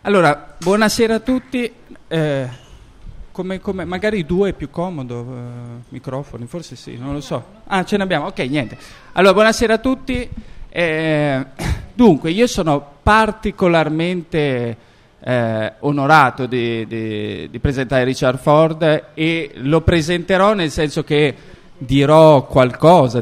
Allora, buonasera a tutti. Come magari due è più comodo, microfoni, forse sì, non lo so. Ah, ce ne abbiamo, ok, niente. Allora, buonasera a tutti. Dunque, io sono particolarmente onorato di presentare Richard Ford, e lo presenterò nel senso che dirò qualcosa,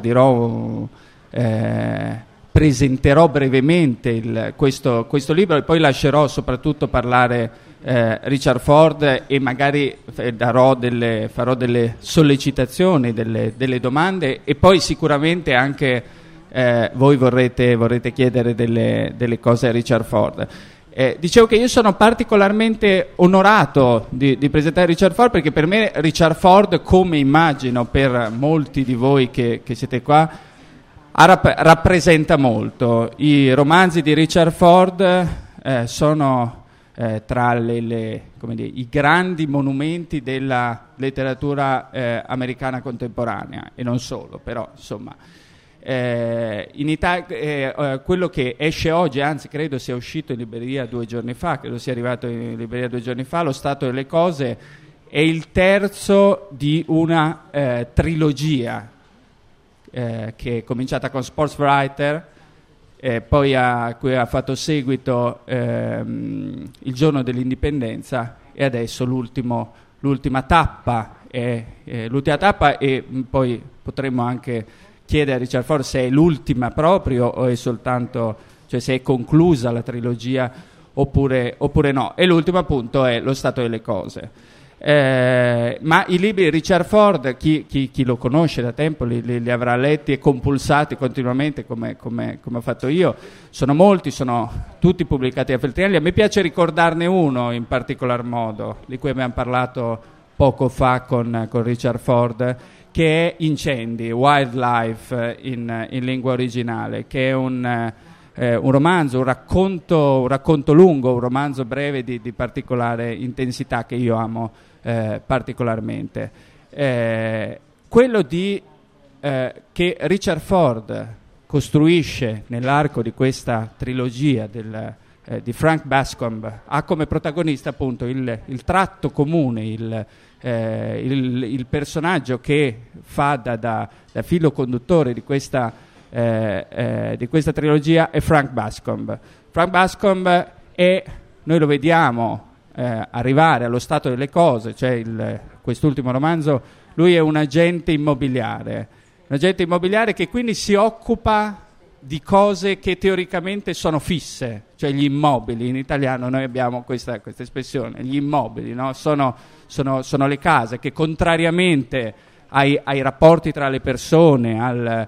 presenterò brevemente questo libro, e poi lascerò soprattutto parlare Richard Ford, e magari farò delle sollecitazioni, delle domande, e poi sicuramente anche voi vorrete chiedere delle cose a Richard Ford. Dicevo che io sono particolarmente onorato di presentare Richard Ford, perché per me Richard Ford, come immagino per molti di voi che siete qua, rappresenta molto. I romanzi di Richard Ford sono tra i grandi monumenti della letteratura americana contemporanea, e non solo, però insomma in Italia quello che esce oggi, anzi credo sia uscito in libreria 2 giorni fa, credo sia arrivato in libreria 2 giorni fa, Lo Stato delle Cose, è il terzo di una trilogia che è cominciata con Sportswriter, poi a cui ha fatto seguito Il Giorno dell'Indipendenza, e adesso l'ultima tappa, e poi potremmo anche chiedere a Richard Ford se è l'ultima proprio, o è soltanto, cioè se è conclusa la trilogia oppure no. E l'ultimo appunto è Lo Stato delle Cose. Ma i libri di Richard Ford, chi lo conosce da tempo li avrà letti e compulsati continuamente, come ho fatto io. Sono molti, sono tutti pubblicati da Feltrinelli. A me piace ricordarne uno in particolar modo, di cui abbiamo parlato poco fa con Richard Ford, che è Incendi, Wildlife in lingua originale, che è un romanzo, un racconto lungo, un romanzo breve di particolare intensità, che io amo particolarmente. Quello che Richard Ford costruisce nell'arco di questa trilogia di Frank Bascomb ha come protagonista appunto il tratto comune, il personaggio che fa da filo conduttore di questa trilogia è Frank Bascomb. Frank Bascomb noi lo vediamo arrivare allo stato delle cose, cioè quest'ultimo romanzo, lui è un agente immobiliare che quindi si occupa di cose che teoricamente sono fisse, cioè gli immobili. In italiano noi abbiamo questa espressione, gli immobili, no? Sono le case che, contrariamente ai rapporti tra le persone,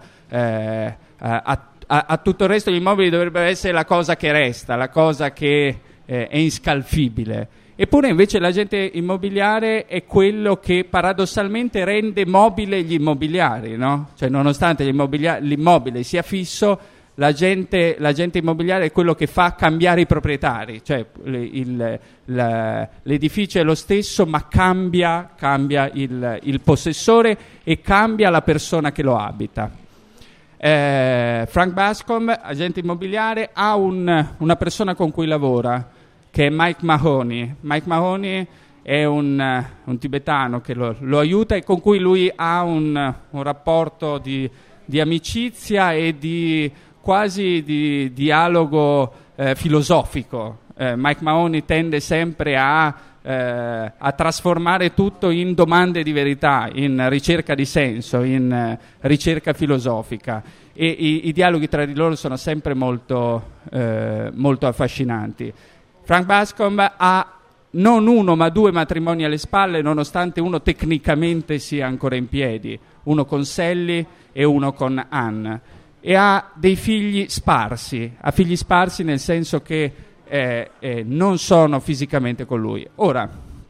a tutto il resto, gli immobili dovrebbero essere la cosa che resta, la cosa che è inscalfibile. Eppure invece l'agente immobiliare è quello che paradossalmente rende mobile gli immobiliari, no? Cioè, nonostante l'immobile sia fisso, l'agente immobiliare è quello che fa cambiare i proprietari, cioè l'edificio è lo stesso, ma cambia il possessore e cambia la persona che lo abita. Frank Bascomb, agente immobiliare, ha una persona con cui lavora, che è Mike Mahoney. Mike Mahoney è un tibetano che lo aiuta, e con cui lui ha un rapporto di amicizia e quasi di dialogo filosofico. Mike Mahoney tende sempre a trasformare tutto in domande di verità, in ricerca di senso, in ricerca filosofica, e i dialoghi tra di loro sono sempre molto affascinanti. Frank Bascomb ha non uno ma 2 matrimoni alle spalle, nonostante uno tecnicamente sia ancora in piedi, uno con Sally e uno con Anne, e ha dei figli sparsi, nel senso che non sono fisicamente con lui. Ora,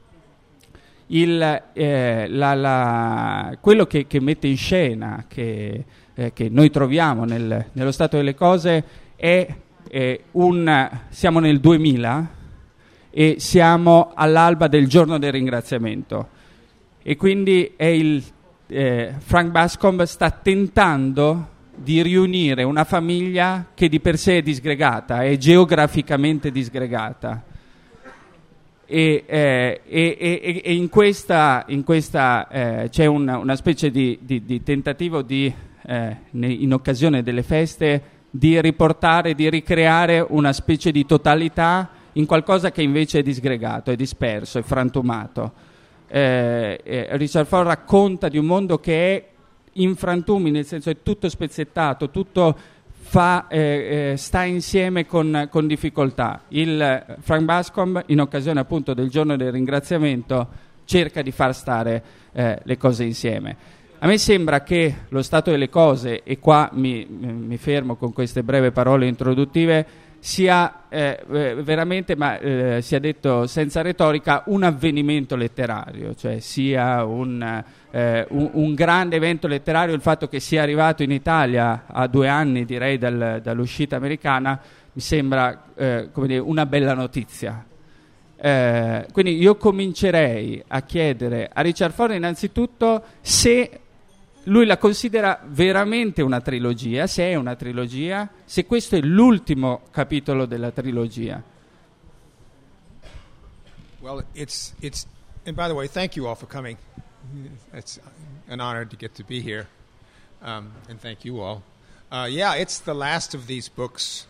quello che mette in scena, che noi troviamo nello stato delle cose, è siamo nel 2000 e siamo all'alba del giorno del ringraziamento, e quindi Frank Bascomb sta tentando di riunire una famiglia che di per sé è disgregata, è geograficamente disgregata, e in questa c'è una specie di tentativo in occasione delle feste di riportare, di ricreare una specie di totalità in qualcosa che invece è disgregato, è disperso, è frantumato. Richard Ford racconta di un mondo che è in frantumi, nel senso è tutto spezzettato, tutto sta insieme con difficoltà. Il Frank Bascomb, in occasione appunto del giorno del ringraziamento, cerca di far stare le cose insieme. A me sembra che lo stato delle cose, e qua mi fermo con queste breve parole introduttive, sia veramente, ma sia detto senza retorica, un avvenimento letterario, cioè sia un grande evento letterario. Il fatto che sia arrivato in Italia a 2 anni, direi, dall'uscita americana, mi sembra come dire, una bella notizia. Quindi io comincerei a chiedere a Richard Ford innanzitutto se lui la considera veramente una trilogia, se è una trilogia, se questo è l'ultimo capitolo della trilogia. Well, it's and by the way, thank you all for coming. It's an honor to get to be here, and thank you all. Yeah, it's the last of these books.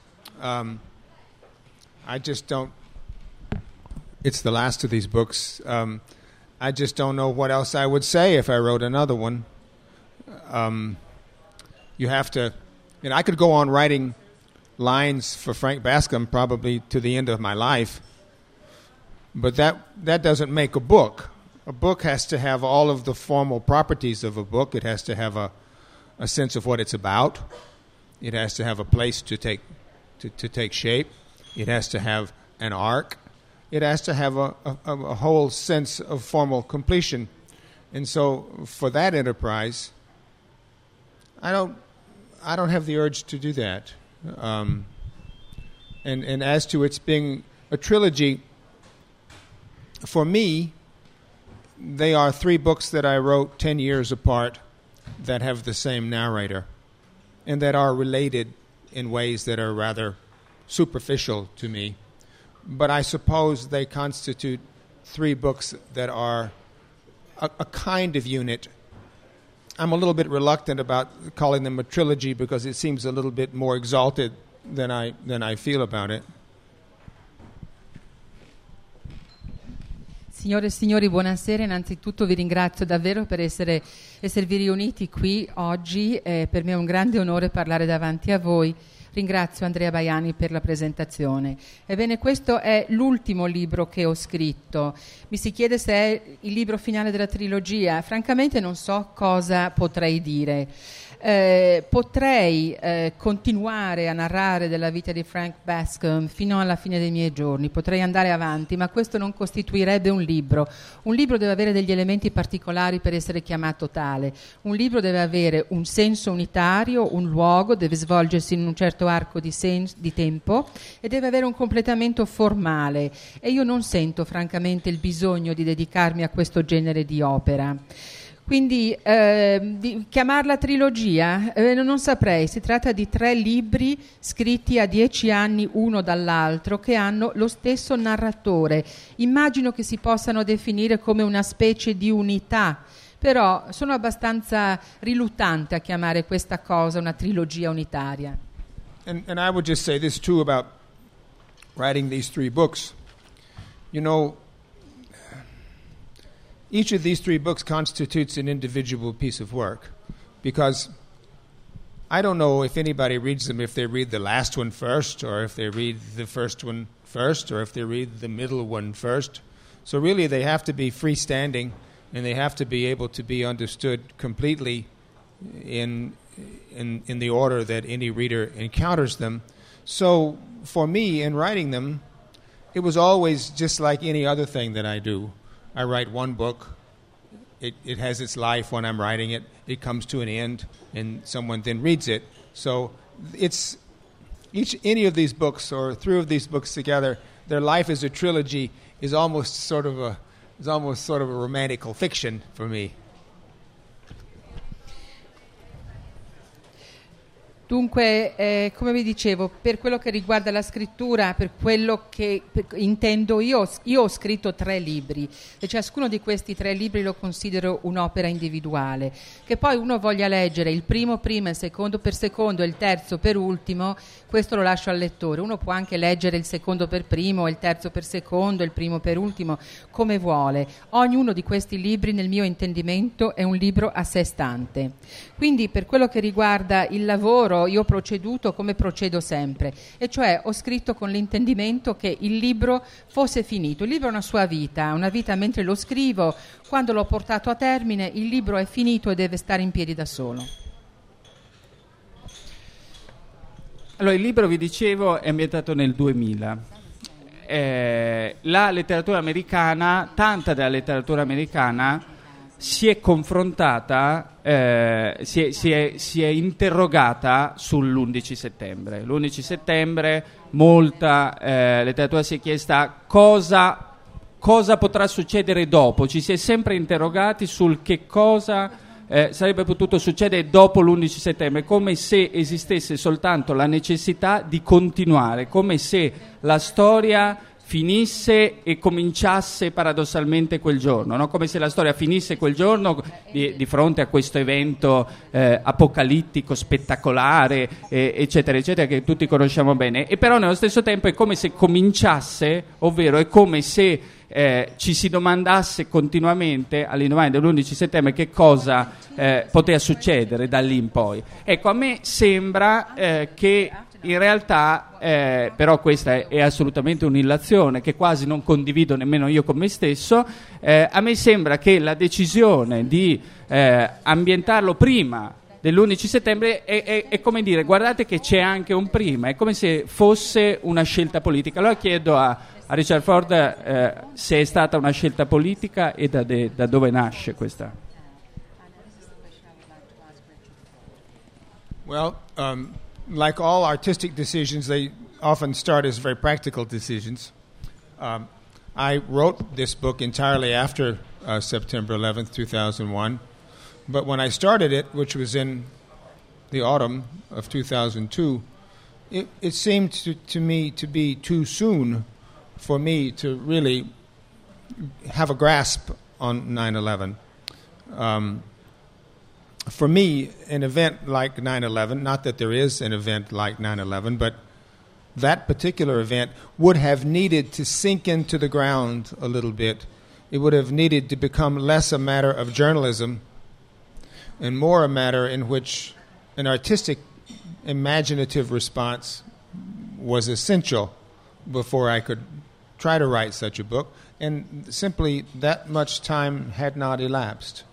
It's the last of these books. I just don't know what else I would say if I wrote another one. You have to, I could go on writing lines for Frank Bascomb probably to the end of my life, but that doesn't make a book. A book has to have all of the formal properties of a book. It has to have a sense of what it's about. It has to have a place to take shape. It has to have an arc. It has to have a whole sense of formal completion. And so for that enterprise, I don't have the urge to do that. And as to its being a trilogy, for me, they are 3 books that I wrote 10 years apart that have the same narrator and that are related in ways that are rather superficial to me. But I suppose they constitute 3 books that are a kind of unit. I'm a little bit reluctant about calling them a trilogy because it seems a little bit more exalted than I feel about it. Signore e signori, buonasera. Innanzitutto vi ringrazio davvero per esservi riuniti qui oggi. Per me è un grande onore parlare davanti a voi. Ringrazio Andrea Baiani per la presentazione. Ebbene, questo è l'ultimo libro che ho scritto. Mi si chiede se è il libro finale della trilogia. Francamente non so cosa potrei dire. Potrei continuare a narrare della vita di Frank Bascomb fino alla fine dei miei giorni, potrei andare avanti, ma questo non costituirebbe un libro. Un libro deve avere degli elementi particolari per essere chiamato tale. Un libro deve avere un senso unitario, un luogo, deve svolgersi in un certo arco di tempo e deve avere un completamento formale, e io non sento francamente il bisogno di dedicarmi a questo genere di opera. Quindi di chiamarla trilogia non saprei. Si tratta di 3 libri scritti a 10 anni uno dall'altro che hanno lo stesso narratore. Immagino che si possano definire come una specie di unità, però sono abbastanza riluttante a chiamare questa cosa una trilogia unitaria. And I would just say this too about writing these 3 books. You know, each of these 3 books constitutes an individual piece of work, because I don't know if anybody reads them if they read the last one first, or if they read the first one first, or if they read the middle one first. So really they have to be freestanding, and they have to be able to be understood completely in the order that any reader encounters them. So for me, in writing them, it was always just like any other thing that I do. I write one book, it has its life when I'm writing it, it comes to an end, and someone then reads it. So it's any of these books, or 3 of these books together, their life as a trilogy is almost sort of a romantical fiction for me. Dunque, come vi dicevo, per quello che riguarda la scrittura, per quello che intendo io ho scritto 3 libri e ciascuno di questi 3 libri lo considero un'opera individuale. Che poi uno voglia leggere il primo prima, il secondo per secondo e il terzo per ultimo, questo lo lascio al lettore. Uno può anche leggere il secondo per primo, il terzo per secondo, il primo per ultimo, come vuole. Ognuno di questi libri, nel mio intendimento, è un libro a sé stante. Quindi, per quello che riguarda il lavoro, io ho proceduto come procedo sempre, e cioè ho scritto con l'intendimento che il libro fosse finito. Il libro ha una vita mentre lo scrivo. Quando l'ho portato a termine, il libro è finito e deve stare in piedi da solo. Allora, il libro, vi dicevo, è ambientato nel 2000. La letteratura americana, tanta della letteratura americana si è confrontata, si è interrogata sull'11 settembre. L'11 settembre molta letteratura si è chiesta cosa potrà succedere dopo. Ci si è sempre interrogati sul che cosa sarebbe potuto succedere dopo l'11 settembre, come se esistesse soltanto la necessità di continuare, come se la storia finisse e cominciasse paradossalmente quel giorno, no? Come se la storia finisse quel giorno di fronte a questo evento apocalittico, spettacolare, eccetera, eccetera, che tutti conosciamo bene, e però nello stesso tempo è come se cominciasse, ovvero è come se ci si domandasse continuamente all'indomani dell'11 settembre che cosa poteva succedere da lì in poi. Ecco, a me sembra che in realtà, però questa è assolutamente un'illazione che quasi non condivido nemmeno io con me stesso, a me sembra che la decisione di ambientarlo prima dell'11 settembre è come dire: guardate che c'è anche un prima, è come se fosse una scelta politica. Allora chiedo a Richard Ford se è stata una scelta politica e da dove nasce questa. Well, like all artistic decisions, they often start as very practical decisions. I wrote this book entirely after September 11th, 2001. But when I started it, which was in the autumn of 2002, it seemed to me to be too soon for me to really have a grasp on 9/11. For me, an event like 9/11, not that there is an event like 9/11, but that particular event would have needed to sink into the ground a little bit. It would have needed to become less a matter of journalism and more a matter in which an artistic, imaginative response was essential before I could try to write such a book, and simply that much time had not elapsed.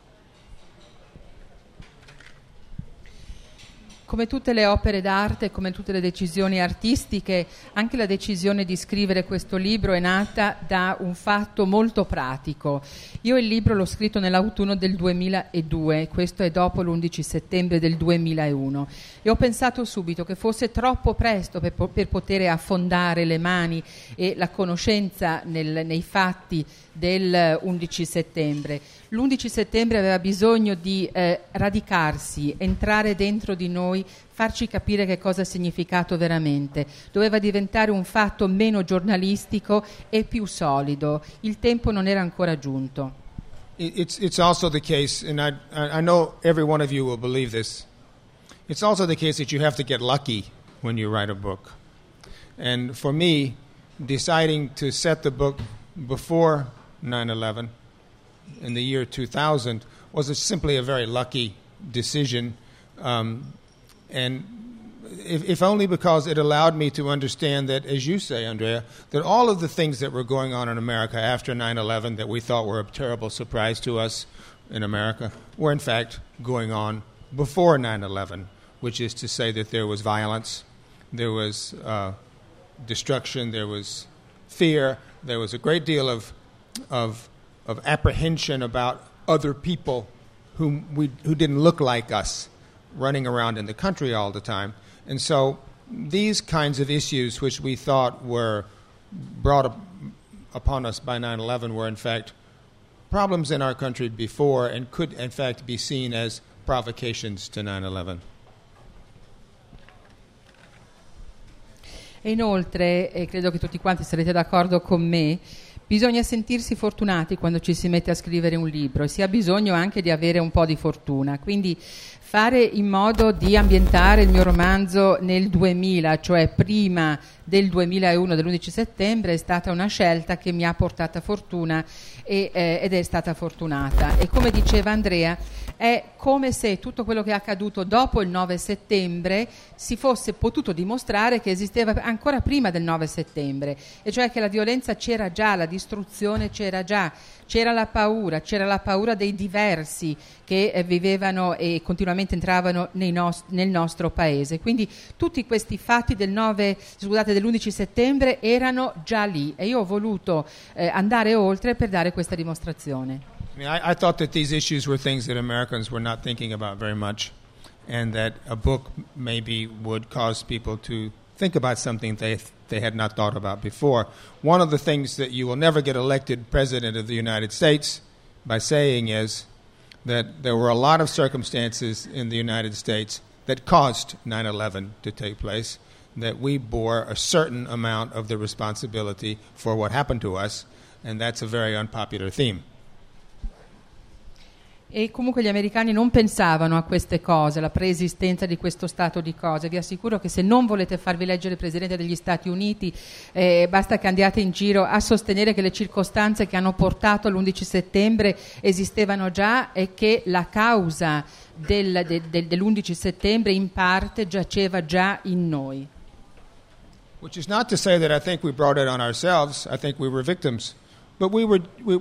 Come tutte le opere d'arte, come tutte le decisioni artistiche, anche la decisione di scrivere questo libro è nata da un fatto molto pratico. Io il libro l'ho scritto nell'autunno del 2002, questo è dopo l'11 settembre del 2001, e ho pensato subito che fosse troppo presto per poter affondare le mani e la conoscenza nei fatti del 11 settembre. L'11 settembre aveva bisogno di radicarsi, entrare dentro di noi, farci capire che cosa ha significato veramente. Doveva diventare un fatto meno giornalistico e più solido. Il tempo non era ancora giunto. It's also the case, and I know every one of you will believe this, it's also the case that you have to get lucky when you write a book. And for me, deciding to set the book before 9/11 in the year 2000 was simply a very lucky decision, and if only because it allowed me to understand that, as you say, Andrea, that all of the things that were going on in America after 9/11 that we thought were a terrible surprise to us in America were in fact going on before 9/11, which is to say that there was violence, there was destruction, there was fear, there was a great deal of apprehension about other people who didn't look like us running around in the country all the time. And so these kinds of issues which we thought were brought upon us by 9/11 were in fact problems in our country before and could in fact be seen as provocations to 9/11. E inoltre, e credo che tutti quanti sarete d'accordo con me, bisogna sentirsi fortunati quando ci si mette a scrivere un libro e si ha bisogno anche di avere un po' di fortuna. Quindi fare in modo di ambientare il mio romanzo nel 2000, cioè prima del 2001, dell'11 settembre, è stata una scelta che mi ha portata fortuna ed è stata fortunata. E come diceva Andrea, è come se tutto quello che è accaduto dopo il 9 settembre si fosse potuto dimostrare che esisteva ancora prima del 9 settembre, e cioè che la violenza c'era già, la distruzione c'era già, c'era la paura dei diversi che vivevano e continuamente entravano nel nostro paese. Quindi tutti questi fatti dell'11 settembre erano già lì, e io ho voluto andare oltre per dare questa dimostrazione. I thought that these issues were things that Americans were not thinking about very much, and that a book maybe would cause people to think about something they had not thought about before. One of the things that you will never get elected President of the United States by saying is that there were a lot of circumstances in the United States that caused 9/11 to take place, that we bore a certain amount of the responsibility for what happened to us, and that's a very unpopular theme. E comunque gli americani non pensavano a queste cose, alla preesistenza di questo stato di cose. Vi assicuro che se non volete farvi eleggere Presidente degli Stati Uniti, basta che andiate in giro a sostenere che le circostanze che hanno portato all'11 settembre esistevano già e che la causa dell'11 settembre in parte giaceva già in noi. Which is not to say that I think we brought it on ourselves. I think we were victims. But we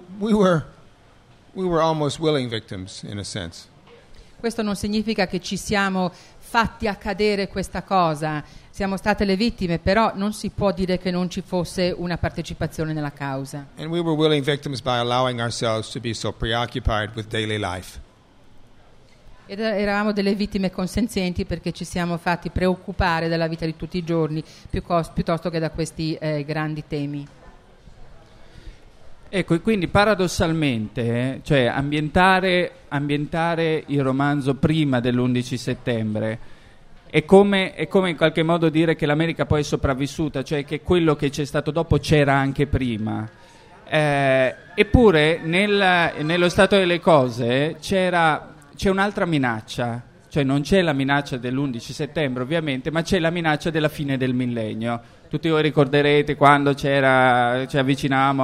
were almost willing victims, in a sense. Questo non significa che ci siamo fatti accadere questa cosa, siamo state le vittime, però non si può dire che non ci fosse una partecipazione nella causa. And we were willing victims by allowing ourselves to be so preoccupied with daily life. Ed eravamo delle vittime consenzienti perché ci siamo fatti preoccupare della vita di tutti i giorni piuttosto che da questi grandi temi. Ecco, e quindi paradossalmente, cioè ambientare il romanzo prima dell'11 settembre è come in qualche modo dire che l'America poi è sopravvissuta, cioè che quello che c'è stato dopo c'era anche prima. Eppure nello stato delle cose c'è un'altra minaccia, cioè non c'è la minaccia dell'11 settembre ovviamente, ma c'è la minaccia della fine del millennio. Tutti voi ricorderete quando ci avvicinavamo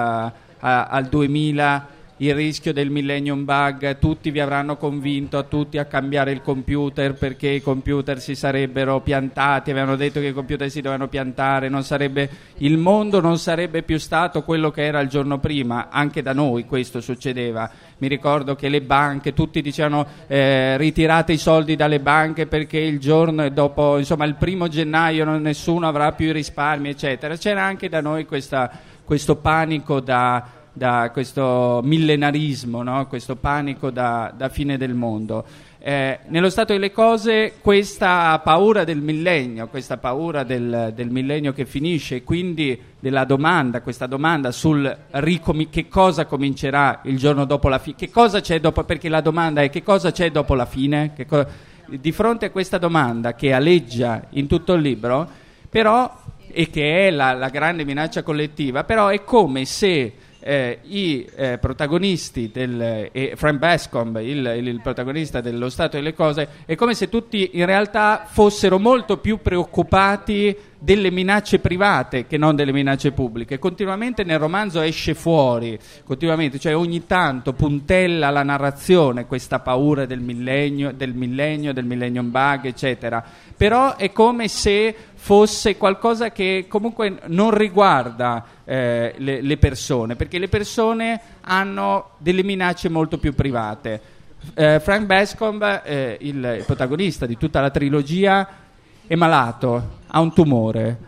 al 2000, il rischio del millennium bug, tutti vi avranno convinto a tutti a cambiare il computer perché i computer si sarebbero piantati, avevano detto che i computer si dovevano piantare, il mondo non sarebbe più stato quello che era il giorno prima. Anche da noi questo succedeva. Mi ricordo che le banche, tutti dicevano ritirate i soldi dalle banche perché il giorno dopo, insomma il 1 gennaio nessuno avrà più i risparmi, eccetera. C'era anche da noi questo panico da questo millenarismo, no? Questo panico da fine del mondo. Nello stato delle cose questa paura del millennio, questa paura del millennio che finisce, quindi questa domanda sul che cosa comincerà il giorno dopo la fine, che cosa c'è dopo, perché la domanda è che cosa c'è dopo la fine, di fronte a questa domanda che aleggia in tutto il libro, però, e che è la grande minaccia collettiva, però è come se i protagonisti Frank Bascomb, il protagonista dello stato delle cose, è come se tutti in realtà fossero molto più preoccupati delle minacce private che non delle minacce pubbliche. Continuamente nel romanzo esce fuori, cioè ogni tanto puntella la narrazione questa paura del millennium bug, eccetera. Però è come se fosse qualcosa che comunque non riguarda le persone, perché le persone hanno delle minacce molto più private. Frank Bascomb, il protagonista di tutta la trilogia, è malato, ha un tumore.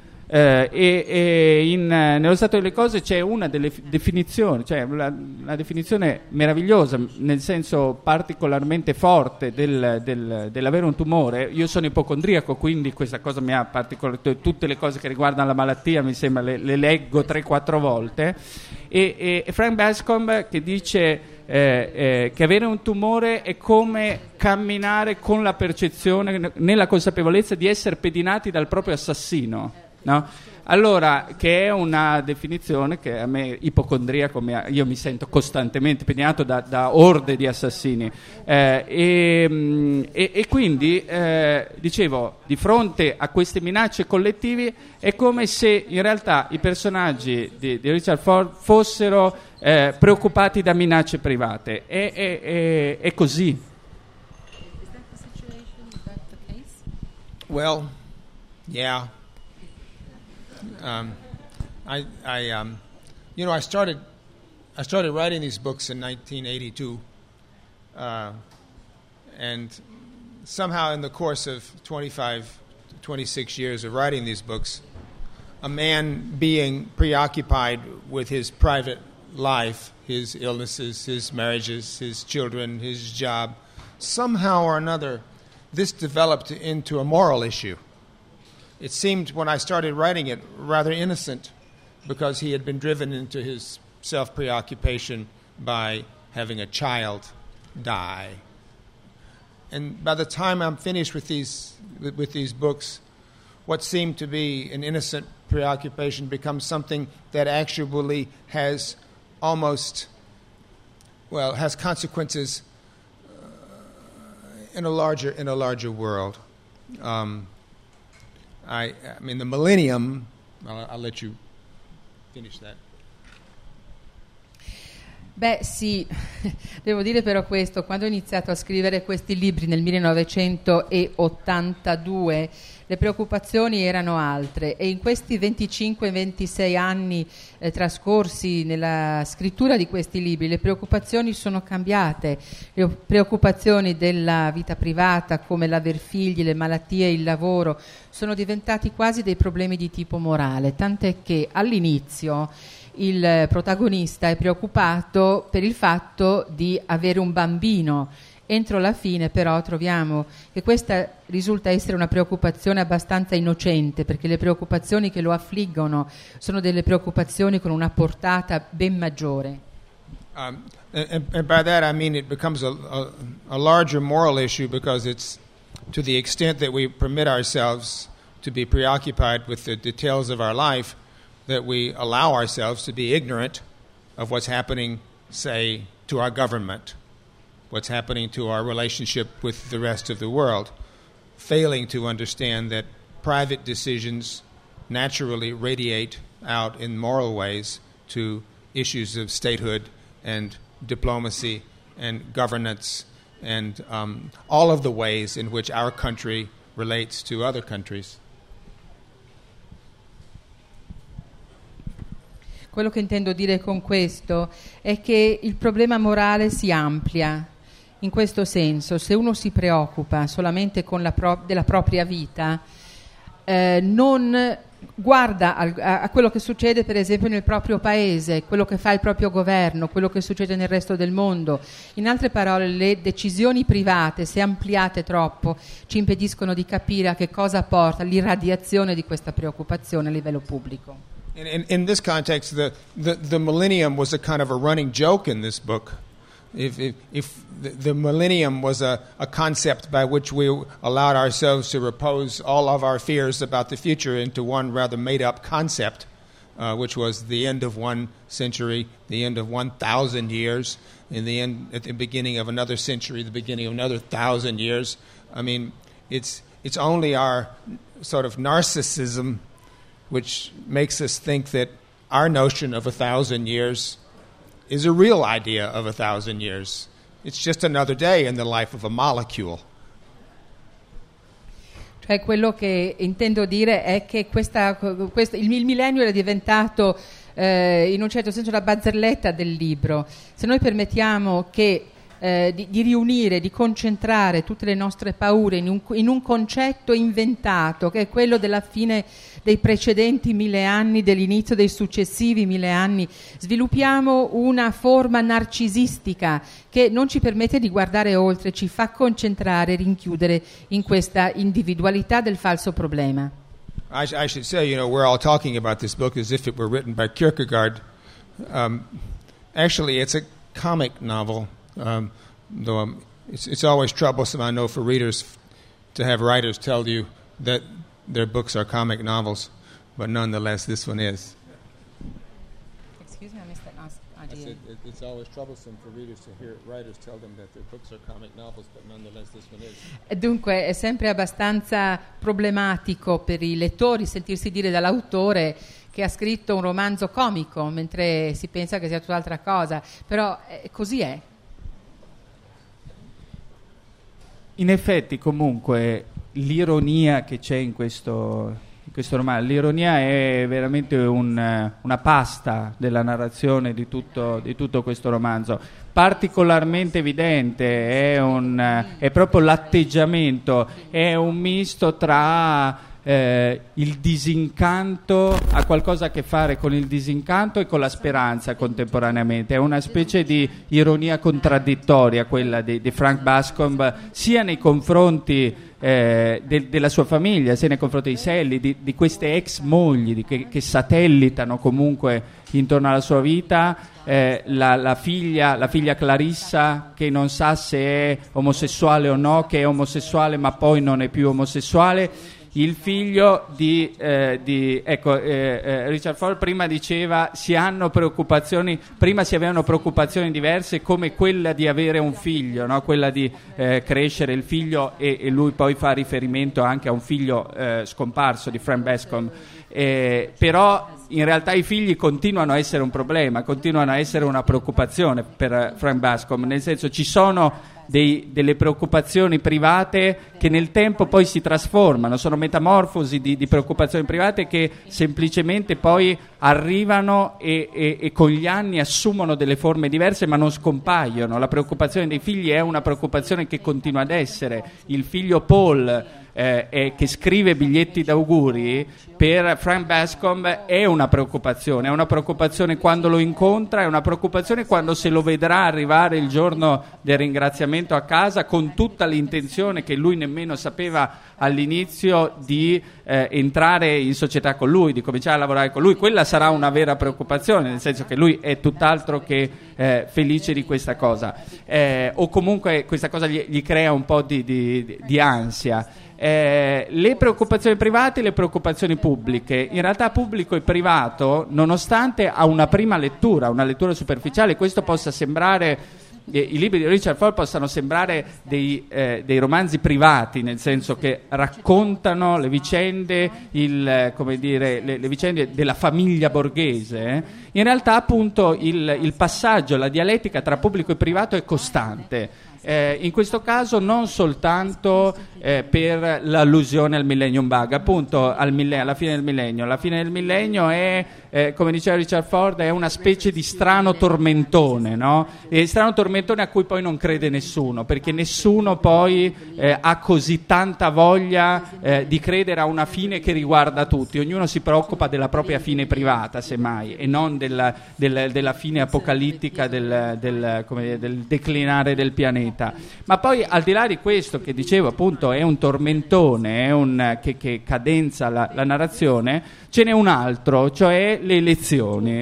Nello stato delle cose c'è una delle definizioni, cioè una definizione meravigliosa, nel senso particolarmente forte dell'avere un tumore. Io sono ipocondriaco, quindi questa cosa mi ha tutte le cose che riguardano la malattia mi sembra le leggo 3-4 volte, e Frank Bascomb che dice che avere un tumore è come camminare con la percezione, nella consapevolezza di essere pedinati dal proprio assassino. no? Allora, che è una definizione che a me ipocondriaco, io mi sento costantemente impegnato da orde di assassini, e quindi dicevo, di fronte a queste minacce collettive è come se in realtà i personaggi di Richard Ford fossero preoccupati da minacce private. È così. Well, yeah. I started writing these books in 1982, and somehow in the course of 26 years of writing these books, a man being preoccupied with his private life, his illnesses, his marriages, his children, his job, somehow or another, this developed into a moral issue. It seemed, when I started writing it, rather innocent, because he had been driven into his self-preoccupation by having a child die. And by the time I'm finished with these books, what seemed to be an innocent preoccupation becomes something that actually has consequences in a larger world. I mean, the millennium, I'll let you finish that. Beh sì, devo dire però questo, quando ho iniziato a scrivere questi libri nel 1982 le preoccupazioni erano altre e in questi 25-26 anni trascorsi nella scrittura di questi libri le preoccupazioni sono cambiate, le preoccupazioni della vita privata come l'aver figli, le malattie, il lavoro sono diventati quasi dei problemi di tipo morale, tant'è che all'inizio il protagonista è preoccupato per il fatto di avere un bambino. Entro la fine però troviamo che questa risulta essere una preoccupazione abbastanza innocente, perché le preoccupazioni che lo affliggono sono delle preoccupazioni con una portata ben maggiore. And by that I mean it becomes a larger moral issue because it's to the extent that we permit ourselves to be preoccupied with the details of our life, that we allow ourselves to be ignorant of what's happening, say, to our government, what's happening to our relationship with the rest of the world, failing to understand that private decisions naturally radiate out in moral ways to issues of statehood and diplomacy and governance and all of the ways in which our country relates to other countries. Quello che intendo dire con questo è che il problema morale si amplia. In questo senso, se uno si preoccupa solamente della propria vita, non guarda a quello che succede per esempio nel proprio paese, quello che fa il proprio governo, quello che succede nel resto del mondo. In altre parole, le decisioni private, se ampliate troppo, ci impediscono di capire a che cosa porta l'irradiazione di questa preoccupazione a livello pubblico. In this context, the millennium was a kind of a running joke in this book. If the millennium was a concept by which we allowed ourselves to repose all of our fears about the future into one rather made-up concept, which was the end of one century, the end of 1,000 years, at the beginning of another century, the beginning of another 1,000 years. I mean, it's only our sort of narcissism which makes us think that our notion of 1,000 years is a real idea of 1,000 years. It's just another day in the life of a molecule. Cioè quello che intendo dire è che il millennio era diventato in un certo senso la barzelletta del libro. Se noi permettiamo che di riunire, di concentrare tutte le nostre paure in un concetto inventato che è quello della fine dei precedenti 1000 anni, dell'inizio dei successivi 1000 anni, sviluppiamo una forma narcisistica che non ci permette di guardare oltre, ci fa concentrare, rinchiudere in questa individualità del falso problema. I should say, we're all talking about this book as if it were written by Kierkegaard. Actually, it's a comic novel. Though it's always troublesome, I know, for readers to have writers tell you that their books are comic novels. but nonetheless this one is. Excuse me, I missed that last idea. It's always troublesome for readers to hear writers tell them that their books are comic novels, but nonetheless this one is. Dunque è sempre abbastanza problematico per i lettori sentirsi dire dall'autore che ha scritto un romanzo comico, mentre si pensa che sia tutt'altra cosa, però così è. In effetti, comunque, l'ironia che c'è in questo romanzo, l'ironia è veramente una pasta della narrazione di tutto questo romanzo. Particolarmente evidente è proprio l'atteggiamento, è un misto tra il disincanto, ha qualcosa a che fare con il disincanto e con la speranza contemporaneamente. È una specie di ironia contraddittoria quella di Frank Bascombe, sia nei confronti della sua famiglia, sia nei confronti di Sally, di queste ex mogli che satellitano comunque intorno alla sua vita, la figlia Clarissa che non sa se è omosessuale o no, che è omosessuale ma poi non è più omosessuale. Il figlio di Richard Ford prima diceva prima si avevano preoccupazioni diverse come quella di avere un figlio, no? Quella di crescere il figlio, e lui poi fa riferimento anche a un figlio scomparso di Frank Bascombe, però in realtà i figli continuano a essere un problema, continuano a essere una preoccupazione per Frank Bascombe, nel senso ci sono delle preoccupazioni private che nel tempo poi si trasformano, sono metamorfosi di preoccupazioni private che semplicemente poi arrivano e con gli anni assumono delle forme diverse ma non scompaiono. La preoccupazione dei figli è una preoccupazione che continua ad essere. Il figlio Paul che scrive biglietti d'auguri, per Frank Bascombe è una preoccupazione quando lo incontra, è una preoccupazione quando se lo vedrà arrivare il giorno del ringraziamento a casa con tutta l'intenzione che lui nemmeno sapeva all'inizio di entrare in società con lui, di cominciare a lavorare con lui. Quella sarà una vera preoccupazione, nel senso che lui è tutt'altro che felice di questa cosa, o comunque questa cosa gli crea un po' di ansia. Le preoccupazioni private e le preoccupazioni pubbliche. In realtà pubblico e privato, nonostante a una prima lettura, una lettura superficiale, questo possa sembrare, i libri di Richard Ford possano sembrare dei romanzi privati, nel senso che raccontano le vicende, le vicende della famiglia borghese, in realtà appunto il passaggio, la dialettica tra pubblico e privato è costante. In questo caso non soltanto per l'allusione al Millennium Bug, appunto alla fine del millennio. La fine del millennio è, come diceva Richard Ford, è una specie di strano tormentone, no? E strano tormentone a cui poi non crede nessuno, perché nessuno poi ha così tanta voglia di credere a una fine che riguarda tutti. Ognuno si preoccupa della propria fine privata, semmai, e non della fine apocalittica del declinare del pianeta. Ma poi, al di là di questo che dicevo, appunto, è un tormentone, che cadenza la narrazione, ce n'è un altro, cioè le elezioni,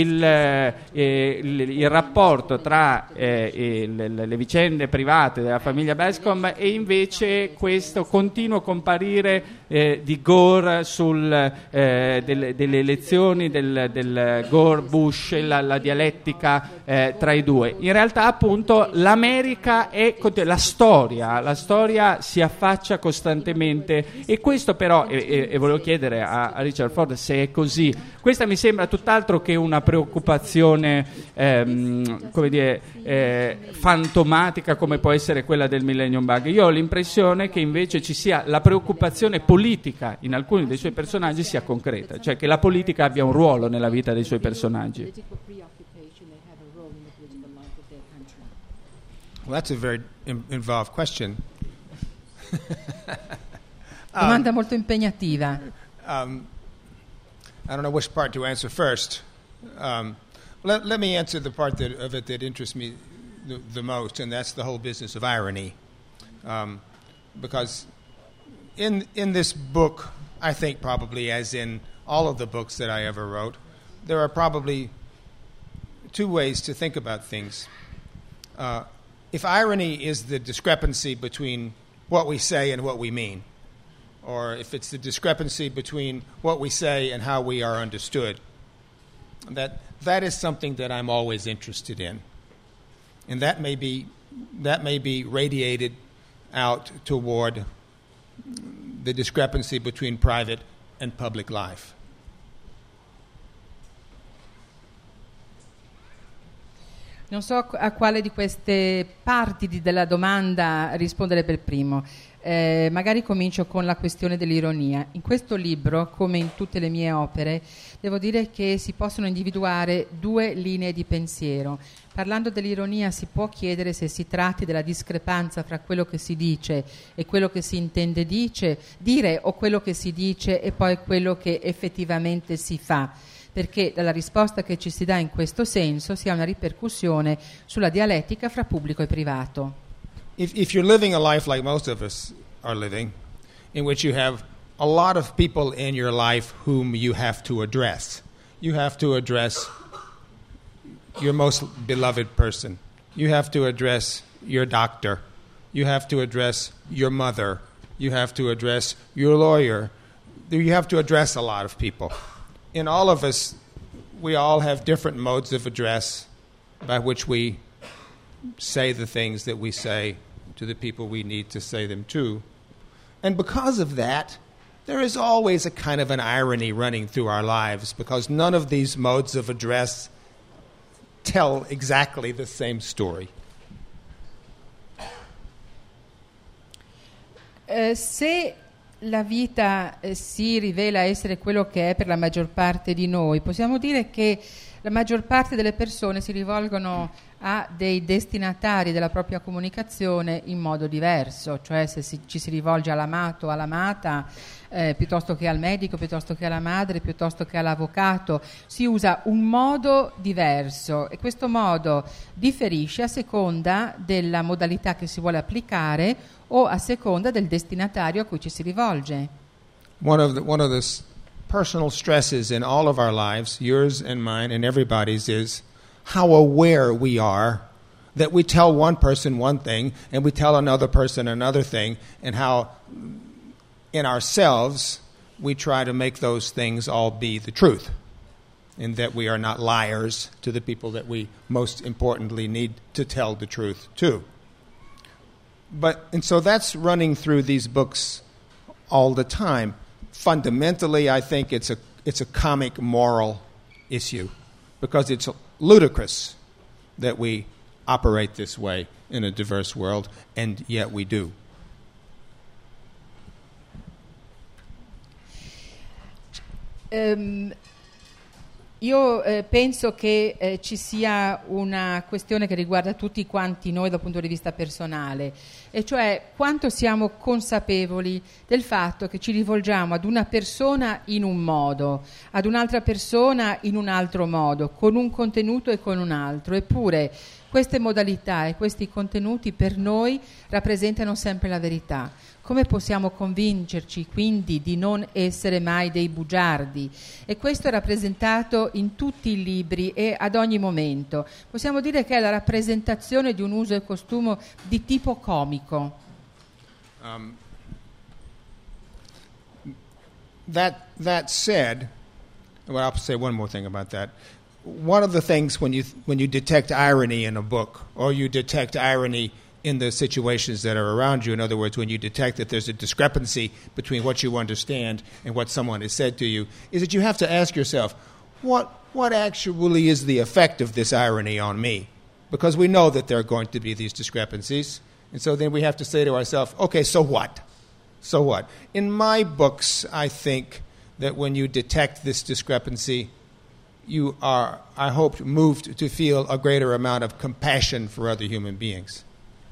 il rapporto tra le vicende private della famiglia Bascombe e invece questo continuo comparire di Gore delle elezioni del Gore-Bush, la dialettica tra i due. In realtà appunto l'America la storia si affaccia costantemente, e questo però, e volevo chiedere a Richard Ford se è così, questa mi sembra tutt'altro che una preoccupazione fantomatica come può essere quella del Millennium Bug. Io ho l'impressione che invece ci sia la preoccupazione politica in alcuni dei suoi personaggi sia concreta, cioè che la politica abbia un ruolo nella vita dei suoi personaggi. Well, that's a very involved question. Domanda molto impegnativa. I don't know which part to answer first. Let me answer the part of it that interests me the most, and that's the whole business of irony. Because in this book, I think probably as in all of the books that I ever wrote, there are probably two ways to think about things. If irony is the discrepancy between what we say and what we mean, or if it's the discrepancy between what we say and how we are understood. That is something that I'm always interested in. And that may be radiated out toward the discrepancy between private and public life. Non so a quale di queste parti della domanda rispondere per primo. Magari comincio con la questione dell'ironia. In questo libro, come in tutte le mie opere, devo dire che si possono individuare due linee di pensiero. Parlando dell'ironia si può chiedere se si tratti della discrepanza fra quello che si dice e quello che si intende dire o quello che si dice e poi quello che effettivamente si fa, perché dalla risposta che ci si dà in questo senso si ha una ripercussione sulla dialettica fra pubblico e privato. If you're living a life like most of us are living, in which you have a lot of people in your life whom you have to address your most beloved person. You have to address your doctor. You have to address your mother. You have to address your lawyer. You have to address a lot of people. In all of us, we all have different modes of address by which we say the things that we say to the people we need to say them to. And because of that, there is always a kind of an irony running through our lives, because none of these modes of address tell exactly the same story. Se la vita si rivela essere quello che è per la maggior parte di noi, possiamo dire che la maggior parte delle persone si rivolgono a dei destinatari della propria comunicazione in modo diverso, cioè se ci si rivolge all'amato o all'amata piuttosto che al medico, piuttosto che alla madre, piuttosto che all'avvocato, si usa un modo diverso e questo modo differisce a seconda della modalità che si vuole applicare o a seconda del destinatario a cui ci si rivolge. One of the personal stresses in all of our lives, yours and mine and everybody's, is how aware we are that we tell one person one thing and we tell another person another thing, and how in ourselves we try to make those things all be the truth, and that we are not liars to the people that we most importantly need to tell the truth to. And so that's running through these books all the time. Fundamentally, I think it's a comic moral issue, because it's ludicrous that we operate this way in a diverse world, and yet we do. Io penso che ci sia una questione che riguarda tutti quanti noi dal punto di vista personale, e cioè quanto siamo consapevoli del fatto che ci rivolgiamo ad una persona in un modo, ad un'altra persona in un altro modo, con un contenuto e con un altro, eppure queste modalità e questi contenuti per noi rappresentano sempre la verità. Come possiamo convincerci quindi di non essere mai dei bugiardi? E questo è rappresentato in tutti i libri e ad ogni momento. Possiamo dire che è la rappresentazione di un uso e costume di tipo comico. That said, well, I'll say one more thing about that. One of the things when you detect irony in a book, or you detect irony in the situations that are around you, in other words, when you detect that there's a discrepancy between what you understand and what someone has said to you, is that you have to ask yourself, what actually is the effect of this irony on me? Because we know that there are going to be these discrepancies, and so then we have to say to ourselves, okay, so what? So what? In my books, I think that when you detect this discrepancy, you are, I hope, moved to feel a greater amount of compassion for other human beings.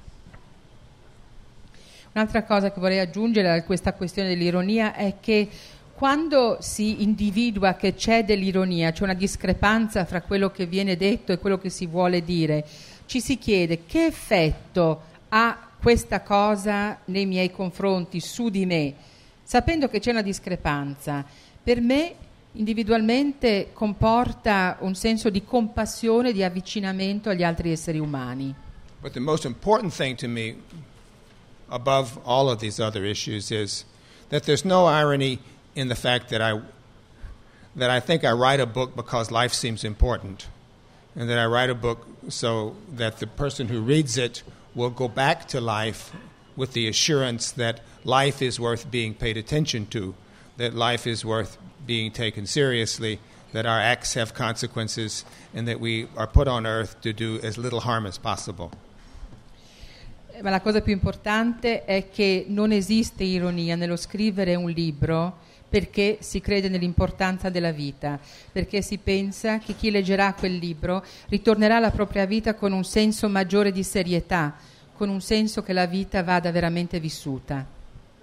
Un'altra cosa che vorrei aggiungere a questa questione dell'ironia è che quando si individua che c'è dell'ironia, c'è una discrepanza fra quello che viene detto e quello che si vuole dire, ci si chiede che effetto ha questa cosa nei miei confronti, su di me, sapendo che c'è una discrepanza. Per me individualmente comporta un senso di compassione, di avvicinamento agli altri esseri umani. But the most important thing to me, above all of these other issues, is that there's no irony in the fact that I think I write a book because life seems important, and that I write a book so that the person who reads it will go back to life with the assurance that life is worth being paid attention to, that life is worth being taken seriously, that our acts have consequences, and that we are put on earth to do as little harm as possible. Ma la cosa più importante è che non esiste ironia nello scrivere un libro, perché si crede nell'importanza della vita, perché si pensa che chi leggerà quel libro ritornerà alla propria vita con un senso maggiore di serietà, con un senso che la vita vada veramente vissuta.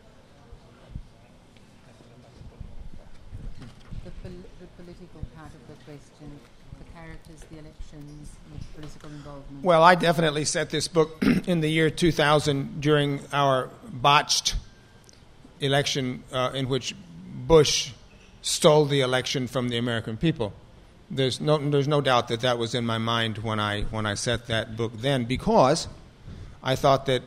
Well, I definitely set this book in the year 2000 during our botched election in which Bush stole the election from the American people. There's no doubt that was in my mind when I set that book then, because I thought that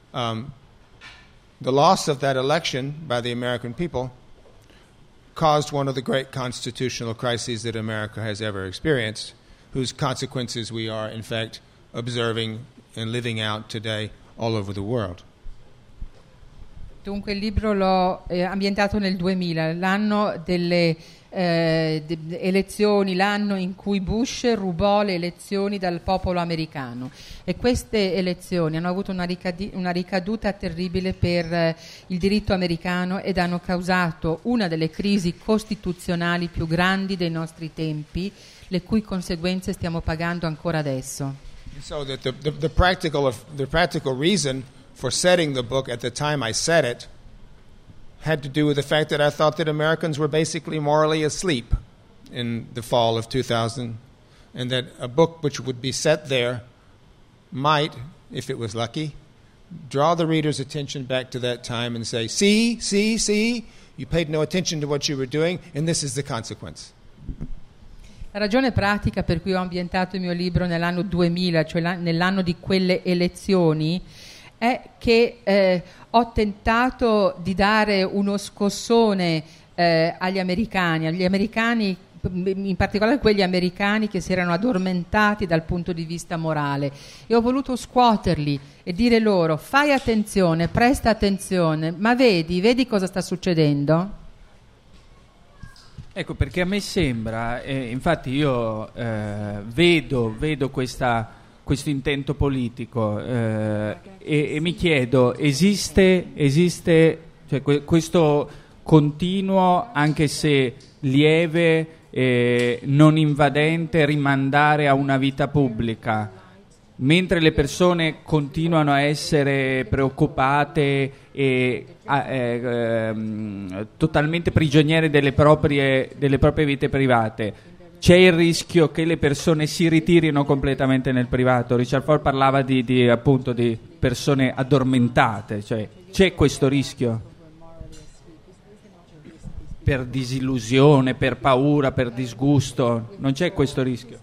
the loss of that election by the American people caused one of the great constitutional crises that America has ever experienced, whose consequences we are, in fact, observing and living out today all over the world. Dunque il libro l'ho ambientato nel 2000, l'anno delle elezioni, l'anno in cui Bush rubò le elezioni dal popolo americano, e queste elezioni hanno avuto una ricaduta terribile per il diritto americano ed hanno causato una delle crisi costituzionali più grandi dei nostri tempi, le cui conseguenze stiamo pagando ancora adesso. So that the practical reason for setting the book at the time I set it had to do with the fact that I thought that Americans were basically morally asleep in the fall of 2000, and that a book which would be set there might, if it was lucky, draw the reader's attention back to that time and say, see, you paid no attention to what you were doing, and this is the consequence. La ragione pratica per cui ho ambientato il mio libro nell'anno 2000, cioè nell'anno di quelle elezioni, è che ho tentato di dare uno scossone agli americani, in particolare quegli americani che si erano addormentati dal punto di vista morale, e ho voluto scuoterli e dire loro: fai attenzione, presta attenzione, ma vedi cosa sta succedendo? Ecco, perché a me sembra, infatti io vedo questo intento politico e mi chiedo, esiste cioè, questo continuo, anche se lieve, non invadente, rimandare a una vita pubblica, mentre le persone continuano a essere preoccupate e totalmente prigioniere delle proprie vite private. C'è il rischio che le persone si ritirino completamente nel privato. Richard Ford parlava appunto di persone addormentate, cioè c'è questo rischio per disillusione, per paura, per disgusto, non c'è questo rischio?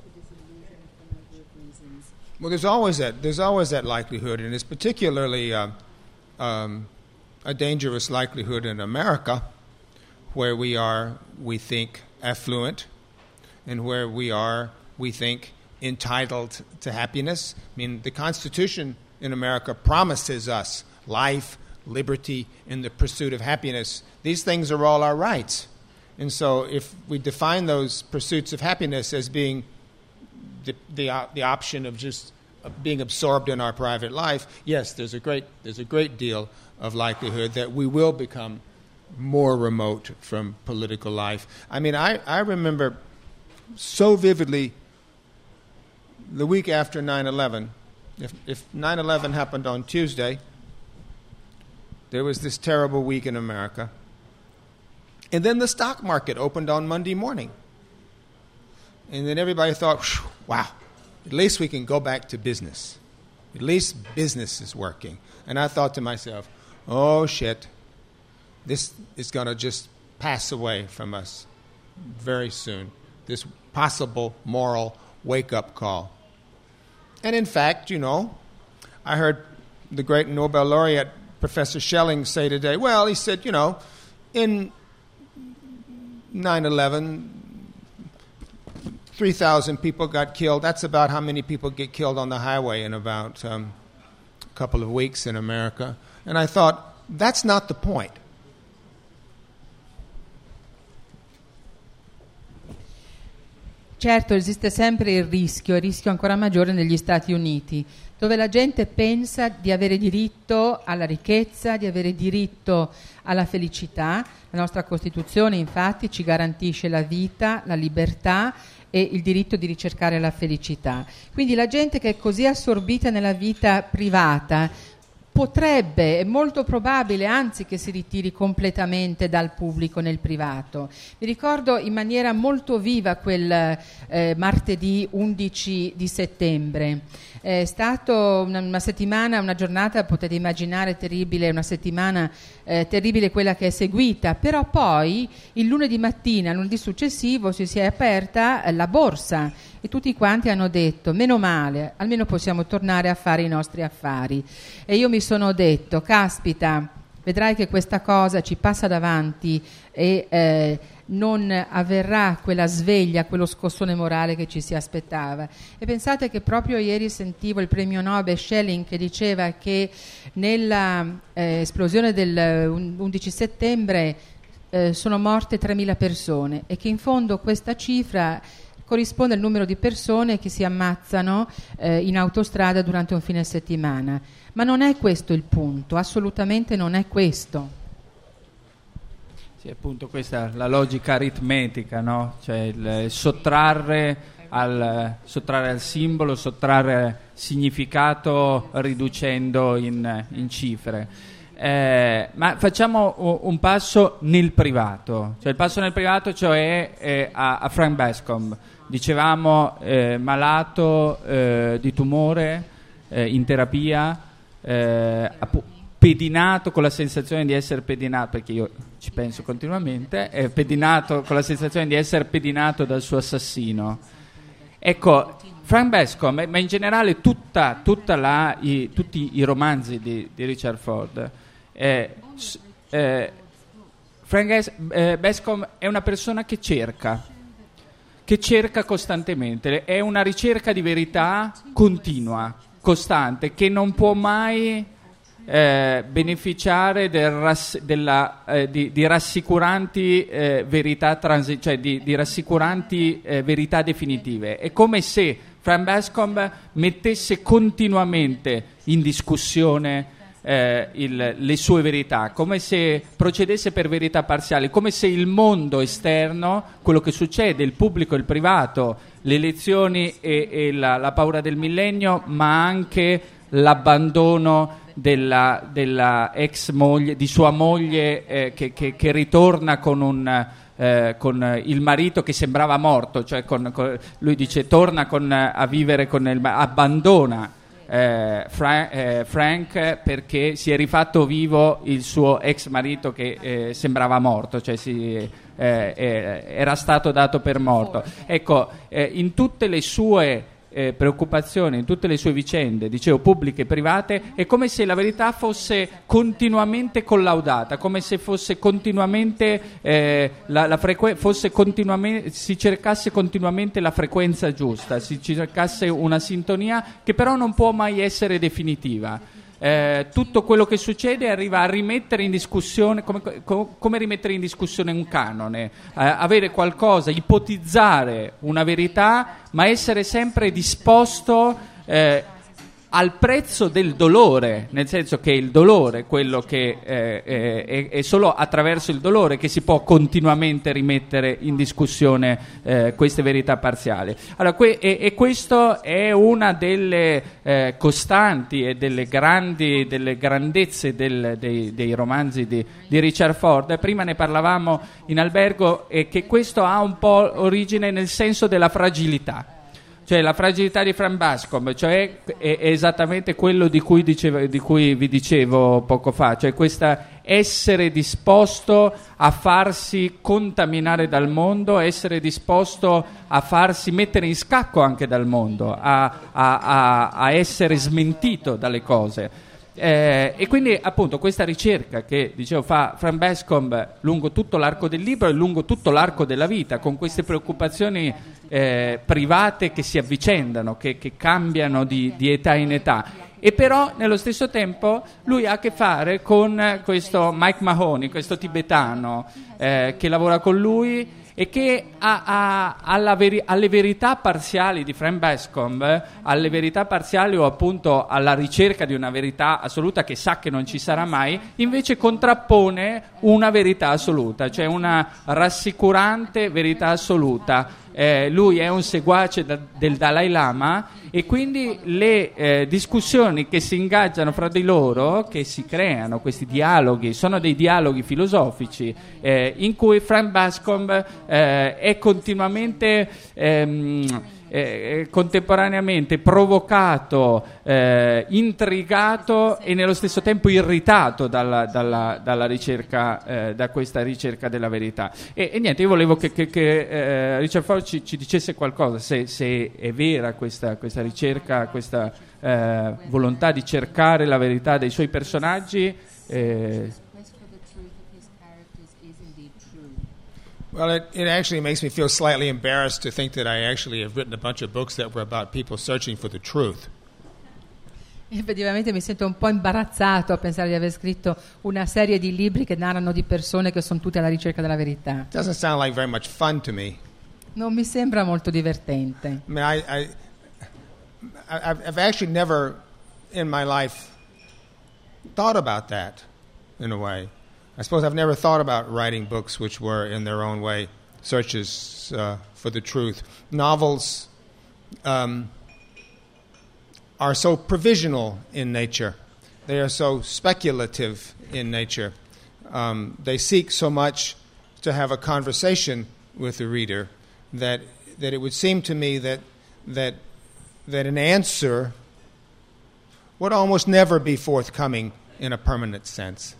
Well, there's always that likelihood, and it's particularly a dangerous likelihood in America, where we think, affluent, and where we think, entitled to happiness. I mean, the Constitution in America promises us life, liberty, and the pursuit of happiness. These things are all our rights. And so if we define those pursuits of happiness as being the option of just being absorbed in our private life, yes, there's a great deal of likelihood that we will become more remote from political life. I mean, I remember so vividly the week after 9/11. If 9/11 happened on Tuesday, there was this terrible week in America. And then the stock market opened on Monday morning. And then everybody thought, wow, at least we can go back to business. At least business is working. And I thought to myself, oh, shit, this is going to just pass away from us very soon, this possible moral wake-up call. And in fact, I heard the great Nobel laureate Professor Schelling say today? Well, he said, you know, in 9/11, 3,000 people got killed. That's about how many people get killed on the highway in about a couple of weeks in America. And I thought, that's not the point. Certo, esiste sempre il rischio ancora maggiore negli Stati Uniti, dove la gente pensa di avere diritto alla ricchezza, di avere diritto alla felicità. La nostra Costituzione, infatti, ci garantisce la vita, la libertà e il diritto di ricercare la felicità. Quindi la gente che è così assorbita nella vita privata potrebbe, è molto probabile, anzi, che si ritiri completamente dal pubblico nel privato. Mi ricordo in maniera molto viva quel martedì 11 di settembre. È stato una settimana, una giornata, potete immaginare, terribile, una settimana terribile quella che è seguita, però poi il lunedì mattina, il lunedì successivo, si è aperta la borsa e tutti quanti hanno detto: meno male, almeno possiamo tornare a fare i nostri affari. E io mi sono detto: caspita, vedrai che questa cosa ci passa davanti e non avverrà quella sveglia, quello scossone morale che ci si aspettava. E pensate che proprio ieri sentivo il premio Nobel Schelling che diceva che nella esplosione del 11 settembre sono morte 3.000 persone e che in fondo questa cifra corrisponde al numero di persone che si ammazzano in autostrada durante un fine settimana. Ma non è questo il punto, assolutamente non è questo. Sì, appunto questa è la logica aritmetica, no? Cioè il sottrarre al simbolo, sottrarre significato riducendo in cifre. Ma facciamo un passo nel privato, cioè il passo nel privato, cioè a Frank Bascomb. Dicevamo malato di tumore, in terapia, pedinato, con la sensazione di essere pedinato, perché io ci penso continuamente, pedinato, con la sensazione di essere pedinato dal suo assassino. Ecco, Frank Bascomb, ma in generale tutti i romanzi di Richard Ford, Frank Bascomb è una persona che cerca costantemente, è una ricerca di verità continua, costante, che non può mai beneficiare di rassicuranti verità cioè di rassicuranti verità definitive. È come se Frank Bascomb mettesse continuamente in discussione le sue verità, come se procedesse per verità parziali, come se il mondo esterno, quello che succede, il pubblico e il privato, le elezioni e la paura del millennio, ma anche l'abbandono della ex moglie, di sua moglie, che ritorna con il marito che sembrava morto, cioè lui dice torna a vivere abbandona Frank perché si è rifatto vivo il suo ex marito che sembrava morto, cioè era stato dato per morto. Ecco, in tutte le sue preoccupazioni, in tutte le sue vicende, dicevo, pubbliche e private, è come se la verità fosse continuamente collaudata, come se fosse continuamente si cercasse continuamente la frequenza giusta, si cercasse una sintonia che però non può mai essere definitiva. Tutto quello che succede arriva a rimettere in discussione, come rimettere in discussione un canone, avere qualcosa, ipotizzare una verità, ma essere sempre disposto al prezzo del dolore, nel senso che il dolore, quello che è solo attraverso il dolore che si può continuamente rimettere in discussione queste verità parziali. Allora, questo è una delle costanti e delle grandezze dei romanzi di Richard Ford. Prima ne parlavamo in albergo, e che questo ha un po' origine nel senso della fragilità. Cioè la fragilità di Frank Bascomb, cioè è esattamente quello di cui vi dicevo poco fa, cioè questa essere disposto a farsi contaminare dal mondo, essere disposto a farsi mettere in scacco anche dal mondo, a essere smentito dalle cose. E quindi appunto questa ricerca che dicevo fa Frank Bascomb lungo tutto l'arco del libro e lungo tutto l'arco della vita, con queste preoccupazioni private che si avvicendano, che cambiano di età in età, e però nello stesso tempo lui ha a che fare con questo Mike Mahoney, questo tibetano che lavora con lui e che alle verità parziali di Frank Bascomb, alle verità parziali o appunto alla ricerca di una verità assoluta che sa che non ci sarà mai, invece contrappone una verità assoluta, cioè una rassicurante verità assoluta. Lui è un seguace del Dalai Lama e quindi le discussioni che si ingaggiano fra di loro, che si creano, questi dialoghi, sono dei dialoghi filosofici in cui Frank Bascomb è continuamente contemporaneamente provocato, intrigato e nello stesso tempo irritato dalla ricerca, da questa ricerca della verità. E niente, io volevo che Richard Ford ci dicesse qualcosa, se è vera questa ricerca, questa volontà di cercare la verità dei suoi personaggi. Well, it actually makes me feel slightly embarrassed to think that I actually have written a bunch of books that were about people searching for the truth. Effettivamente mi sento un po' imbarazzato a pensare di aver scritto una serie di libri che narrano di persone che sono tutte alla ricerca della verità. It doesn't sound like very much fun to me. Non mi sembra molto divertente. I mean, I've actually never in my life thought about that in a way. I suppose I've never thought about writing books which were, in their own way, searches for the truth. Novels are so provisional in nature. They are so speculative in nature. They seek so much to have a conversation with the reader that it would seem to me that an answer would almost never be forthcoming in a permanent sense.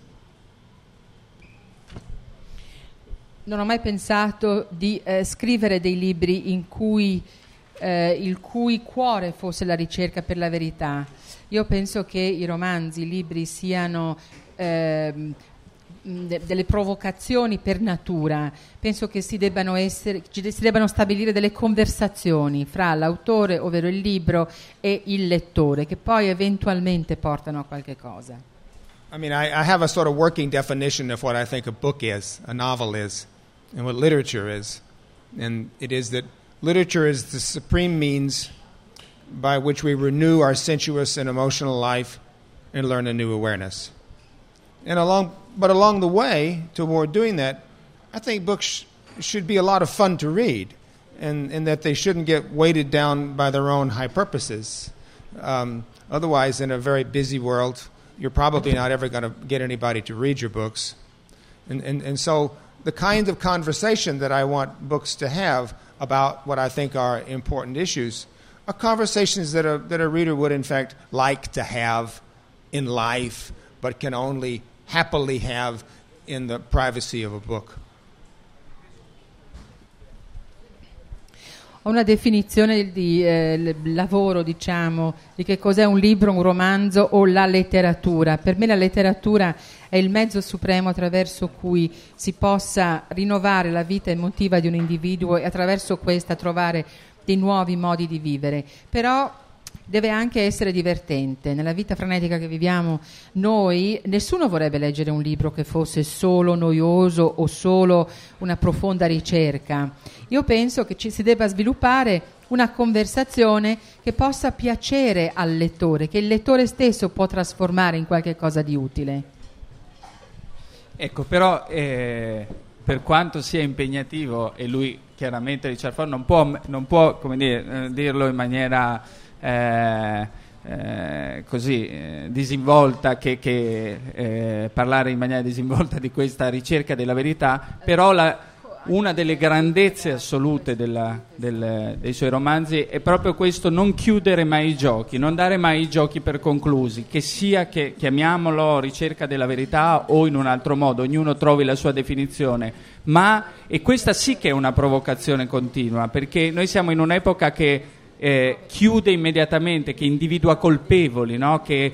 Non ho mai pensato di scrivere dei libri in cui il cui cuore fosse la ricerca per la verità. Io penso che i romanzi, i libri siano delle provocazioni per natura. Penso che ci si debbano stabilire delle conversazioni fra l'autore, ovvero il libro, e il lettore, che poi eventualmente portano a qualche cosa. I mean, I have a sort of working definition of what I think a book is, a novel is, and what literature is. And it is that literature is the supreme means by which we renew our sensuous and emotional life and learn a new awareness. And along the way toward doing that, I think books should be a lot of fun to read, and that they shouldn't get weighted down by their own high purposes. Otherwise, in a very busy world, you're probably not ever going to get anybody to read your books. And so the kind of conversation that I want books to have about what I think are important issues are conversations that a reader would in fact like to have in life, but can only happily have in the privacy of a book. Ho una definizione di lavoro, diciamo, di che cos'è un libro, un romanzo o la letteratura. Per me la letteratura è il mezzo supremo attraverso cui si possa rinnovare la vita emotiva di un individuo e attraverso questa trovare dei nuovi modi di vivere. Però deve anche essere divertente. Nella vita frenetica che viviamo noi, nessuno vorrebbe leggere un libro che fosse solo noioso o solo una profonda ricerca. Io penso che ci si debba sviluppare una conversazione che possa piacere al lettore, che il lettore stesso può trasformare in qualche cosa di utile. Ecco, però per quanto sia impegnativo, e lui chiaramente Richard Ford non può come dire, dirlo in maniera così disinvolta, che parlare in maniera disinvolta di questa ricerca della verità, però una delle grandezze assolute dei suoi romanzi è proprio questo: non chiudere mai i giochi, non dare mai i giochi per conclusi, che sia che chiamiamolo ricerca della verità o in un altro modo, ognuno trovi la sua definizione, e questa sì che è una provocazione continua, perché noi siamo in un'epoca che chiude immediatamente, che individua colpevoli, no? Che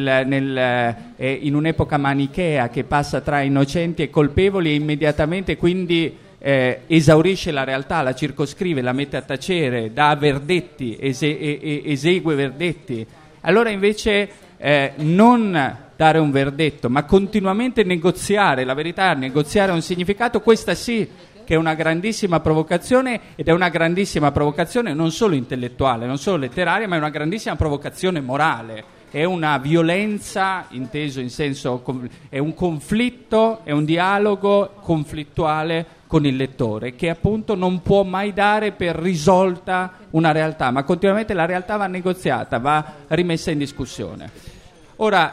in un'epoca manichea che passa tra innocenti e colpevoli, e immediatamente quindi esaurisce la realtà, la circoscrive, la mette a tacere, dà verdetti, esegue verdetti. Allora invece non dare un verdetto, ma continuamente negoziare la verità, negoziare un significato, questa sì che è una grandissima provocazione, ed è una grandissima provocazione non solo intellettuale, non solo letteraria, ma è una grandissima provocazione morale. È una violenza, inteso in senso, è un conflitto, è un dialogo conflittuale con il lettore, che appunto non può mai dare per risolta una realtà, ma continuamente la realtà va negoziata, va rimessa in discussione. Ora,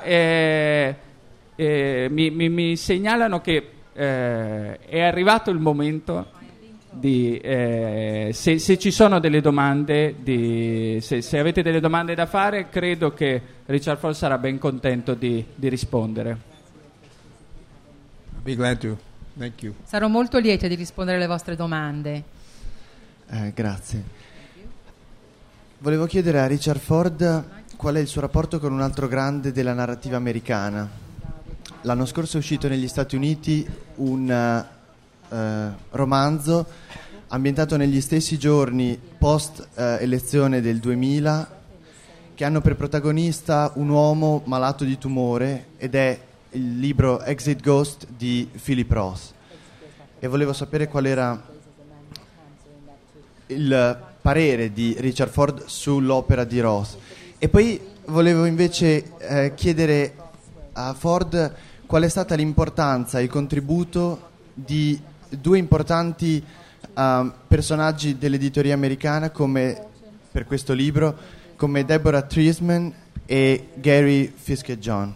mi segnalano che è arrivato il momento di se ci sono delle domande, se avete delle domande da fare, credo che Richard Ford sarà ben contento di rispondere. I'll be glad to. Thank you. Sarò molto lieta di rispondere alle vostre domande. Grazie. Volevo chiedere a Richard Ford qual è il suo rapporto con un altro grande della narrativa americana. L'anno scorso è uscito negli Stati Uniti un romanzo ambientato negli stessi giorni post elezione del 2000, che hanno per protagonista un uomo malato di tumore, ed è il libro Exit Ghost di Philip Roth, e volevo sapere qual era il parere di Richard Ford sull'opera di Roth. E poi volevo invece chiedere a Ford qual è stata l'importanza e il contributo di due importanti personaggi dell'editoria americana per questo libro, come Deborah Treisman e Gary Fiske-John.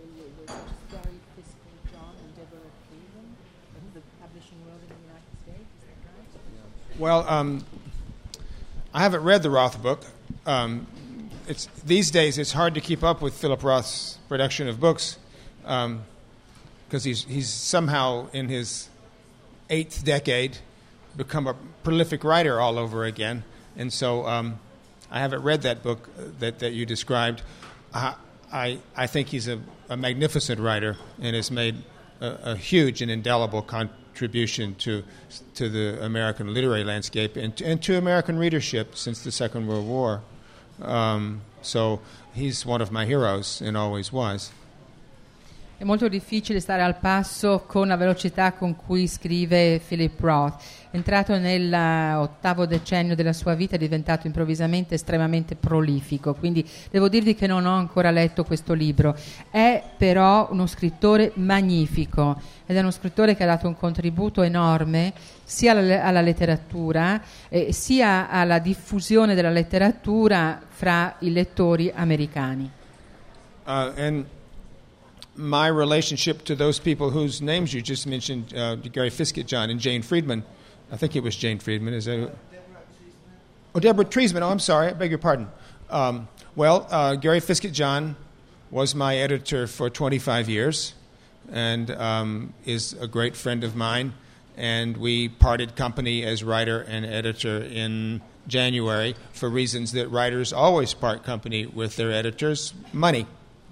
Well, I haven't read the Roth book. These days it's hard to keep up with Philip Roth's production of books, because he's somehow in his 8th decade become a prolific writer all over again. And so I haven't read that book that you described. I think he's a magnificent writer and has made a huge and indelible contribution to the American literary landscape and to American readership since the Second World War. So he's one of my heroes and always was. È molto difficile stare al passo con la velocità con cui scrive Philip Roth. Entrato nell'8º decennio della sua vita, è diventato improvvisamente estremamente prolifico, quindi devo dirvi che non ho ancora letto questo libro. È però uno scrittore magnifico, ed è uno scrittore che ha dato un contributo enorme sia alla letteratura sia alla diffusione della letteratura fra i lettori americani. And my relationship to those people whose names you just mentioned, Gary Fiske-John and Jane Friedman. I think it was Jane Friedman. Is that? Oh, Deborah Treisman. Oh, I'm sorry. I beg your pardon. Gary Fiske-John was my editor for 25 years and is a great friend of mine. And we parted company as writer and editor in January for reasons that writers always part company with their editors: money.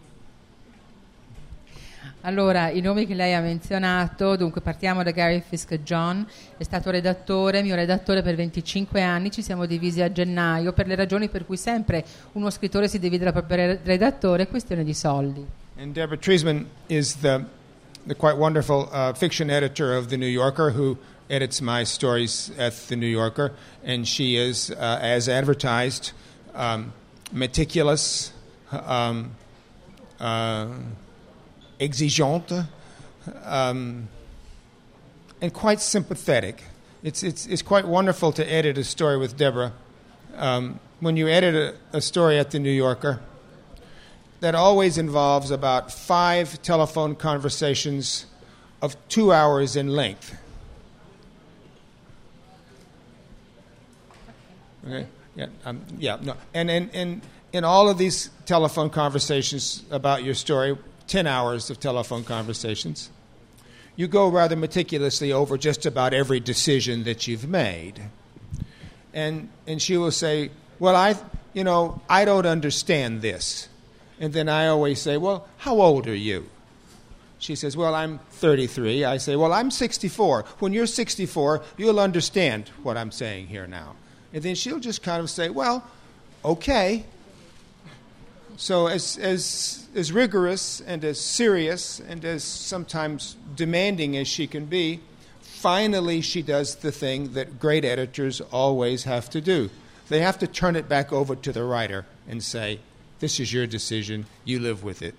Allora, i nomi che lei ha menzionato, dunque partiamo da Gary Fiske-John, è stato mio redattore per 25 anni, ci siamo divisi a gennaio per le ragioni per cui sempre uno scrittore si divide dal proprio redattore, questione di soldi. And Deborah Treisman is the quite wonderful fiction editor of The New Yorker, who edits my stories at The New Yorker, and she is, as advertised, meticulous, exigeante, and quite sympathetic. It's quite wonderful to edit a story with Deborah. When you edit a story at The New Yorker, that always involves about 5 telephone conversations of 2 hours in length. Okay? Yeah. No. And in all of these telephone conversations about your story, 10 hours of telephone conversations, you go rather meticulously over just about every decision that you've made. And she will say, well, I don't understand this. And then I always say, well, how old are you? She says, well, I'm 33. I say, well, I'm 64. When you're 64, you'll understand what I'm saying here now. And then she'll just kind of say, well, okay. So as rigorous and as serious and as sometimes demanding as she can be, finally she does the thing that great editors always have to do. They have to turn it back over to the writer and say, this is your decision, you live with it.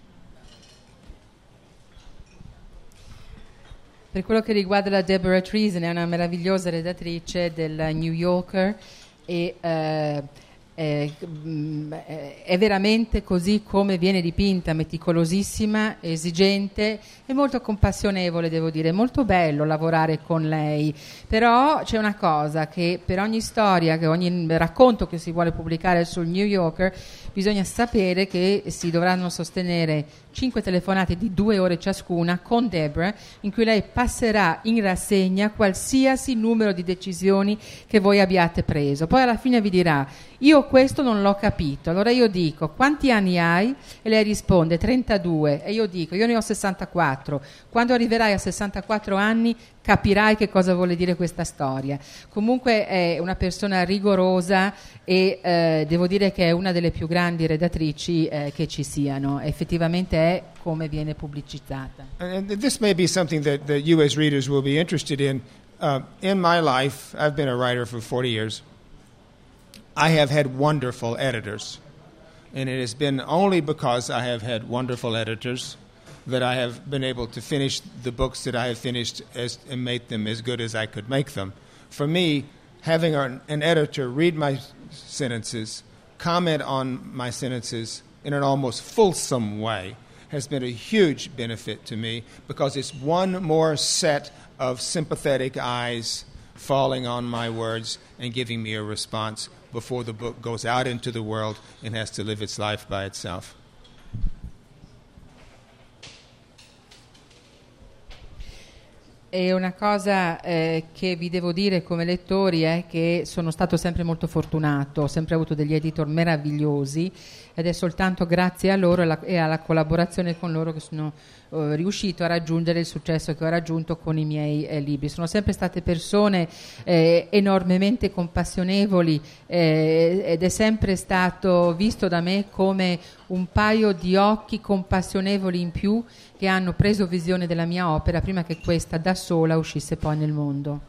Per quello che riguarda la Deborah Treason, è una meravigliosa redattrice del New Yorker e è veramente così come viene dipinta, meticolosissima, esigente e molto compassionevole, devo dire. È molto bello lavorare con lei, però c'è una cosa, che per ogni storia, che ogni racconto che si vuole pubblicare sul New Yorker, bisogna sapere che si dovranno sostenere 5 telefonate di 2 ore ciascuna con Deborah, in cui lei passerà in rassegna qualsiasi numero di decisioni che voi abbiate preso. Poi alla fine vi dirà, io questo non l'ho capito. Allora io dico, quanti anni hai? E lei risponde 32. E io dico, io ne ho 64. Quando arriverai a 64 anni capirai che cosa vuole dire questa storia. Comunque è una persona rigorosa e devo dire che è una delle più grandi redattrici che ci siano. Effettivamente è come viene pubblicizzata. And this may be something that you as readers will be interested in. In my life, I've been a writer for 40 years. I have had wonderful editors. And it has been only because I have had wonderful editors that I have been able to finish the books that I have finished and make them as good as I could make them. For me, having an editor read my sentences, comment on my sentences in an almost fulsome way has been a huge benefit to me, because it's one more set of sympathetic eyes falling on my words and giving me a response before the book goes out into the world and has to live its life by itself. E una cosa che vi devo dire come lettori è che sono stato sempre molto fortunato, ho sempre avuto degli editor meravigliosi, ed è soltanto grazie a loro e alla collaborazione con loro che sono riuscito a raggiungere il successo che ho raggiunto con i miei libri. Sono sempre state persone enormemente compassionevoli ed è sempre stato visto da me come un paio di occhi compassionevoli in più che hanno preso visione della mia opera prima che questa da sola uscisse poi nel mondo.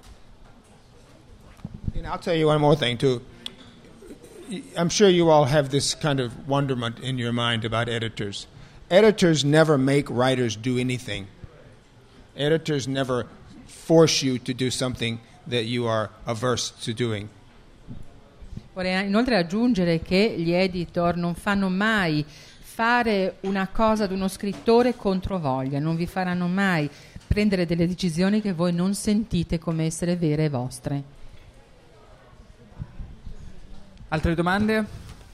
And I'll tell you one more thing too. I'm sure you all have this kind of wonderment in your mind about editors. Editors never make writers do anything. Editors never force you to do something that you are averse to doing. Vorrei inoltre aggiungere che gli editor non fanno mai fare una cosa ad uno scrittore contro voglia, non vi faranno mai prendere delle decisioni che voi non sentite come essere vere e vostre. Altre domande?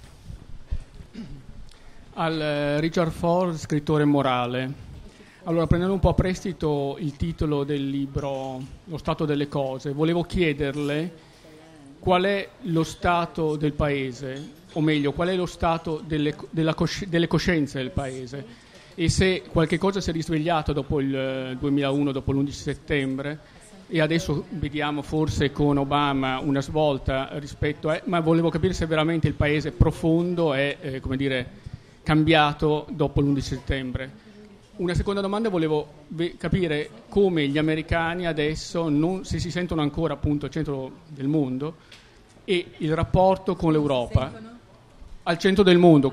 Al Richard Ford, scrittore morale. Allora, prendendo un po' a prestito il titolo del libro Lo stato delle cose, volevo chiederle qual è lo stato del paese, o meglio, qual è lo stato delle coscienze del paese, e se qualche cosa si è risvegliato dopo il 2001, dopo l'11 settembre, e adesso vediamo forse con Obama una svolta rispetto a... ma volevo capire se veramente il paese profondo è, come dire, cambiato dopo l'11 settembre. Una seconda domanda, volevo capire come gli americani adesso, se si sentono ancora appunto al centro del mondo, e il rapporto con l'Europa. Al centro del mondo,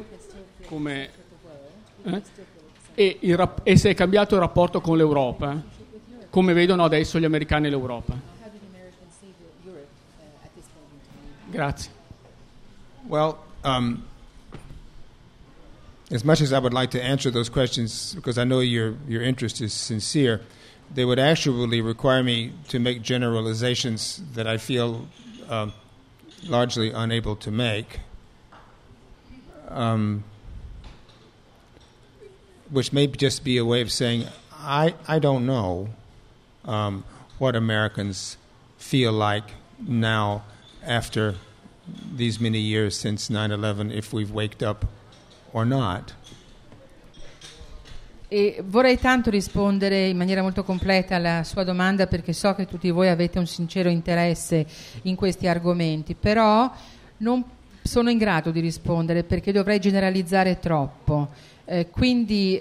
e se è cambiato il rapporto con l'Europa, come vedono adesso gli americani l'Europa. Grazie. Well, as much as I would like to answer those questions, because I know your interest is sincere, they would actually require me to make generalizations that I feel largely unable to make, which may just be a way of saying I don't know what Americans feel like now after these many years since 9/11 if we've waked up or not. E vorrei tanto rispondere in maniera molto completa alla sua domanda, perché so che tutti voi avete un sincero interesse in questi argomenti, però non sono in grado di rispondere perché dovrei generalizzare troppo. Quindi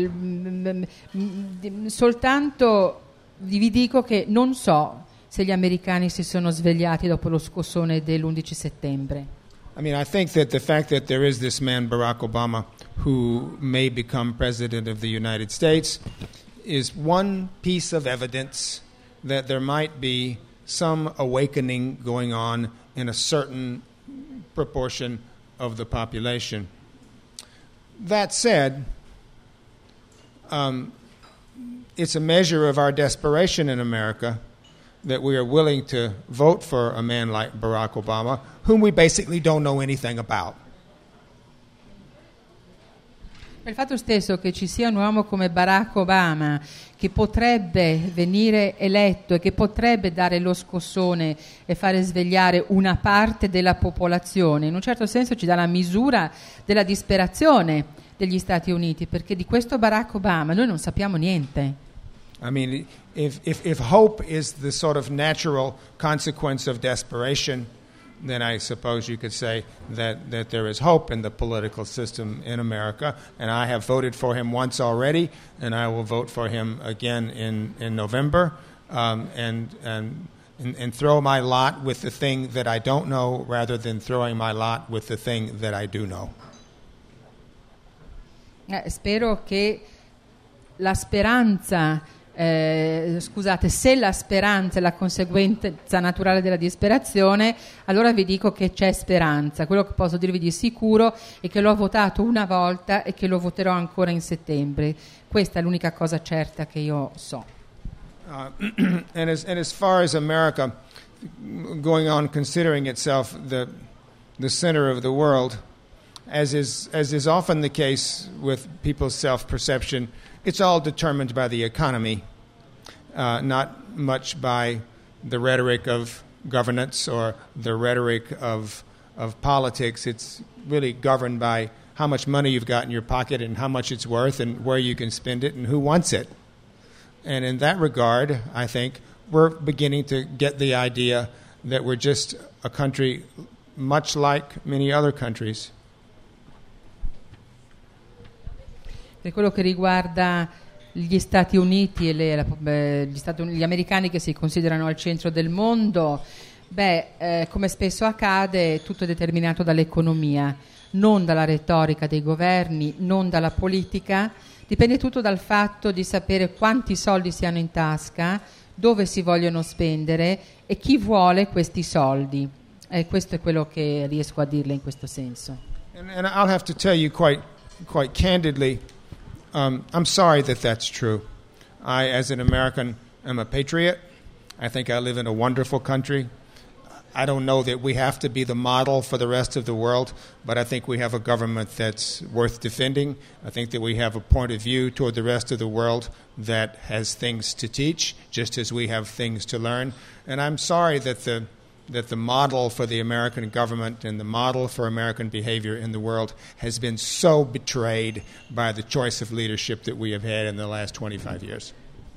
soltanto vi dico che non so se gli americani si sono svegliati dopo lo scossone dell'11 settembre. I mean, I think that the fact that there is this man, Barack Obama, who may become president of the United States is one piece of evidence that there might be some awakening going on in a certain proportion of the population. That said, it's a measure of our desperation in America that we are willing to vote for a man like Barack Obama, whom we basically don't know anything about. Il fatto stesso che ci sia un uomo come Barack Obama che potrebbe venire eletto e che potrebbe dare lo scossone e fare svegliare una parte della popolazione, in un certo senso ci dà la misura della disperazione degli Stati Uniti, perché di questo Barack Obama noi non sappiamo niente. I mean, if hope is the sort of natural consequence of desperation, then I suppose you could say that there is hope in the political system in America, and I have voted for him once already, and I will vote for him again in November, and throw my lot with the thing that I don't know rather than throwing my lot with the thing that I do know. Spero che la speranza se la speranza è la conseguenza naturale della disperazione, allora vi dico che c'è speranza. Quello che posso dirvi di sicuro è che l'ho votato una volta e che lo voterò ancora in settembre. Questa è l'unica cosa certa che io so. And as far as America going on considering itself the center of the world, as is often the case with people's self-perception, it's all determined by the economy, not much by the rhetoric of governance or the rhetoric of politics. It's really governed by how much money you've got in your pocket and how much it's worth and where you can spend it and who wants it. And in that regard, I think we're beginning to get the idea that we're just a country much like many other countries. Per quello che riguarda gli Stati Uniti e gli americani che si considerano al centro del mondo, come spesso accade, tutto è determinato dall'economia, non dalla retorica dei governi, non dalla politica. Dipende tutto dal fatto di sapere quanti soldi si hanno in tasca, dove si vogliono spendere e chi vuole questi soldi. Questo è quello che riesco a dirle in questo senso. And I'll have to tell you quite candidly, I'm sorry that that's true. I, as an American, am a patriot. I think I live in a wonderful country. I don't know that we have to be the model for the rest of the world, but I think we have a government that's worth defending. I think that we have a point of view toward the rest of the world that has things to teach, just as we have things to learn. And I'm sorry that the model for the American government and the model for American behavior in the world has been so betrayed by the choice of leadership that we have had in the last 25 years.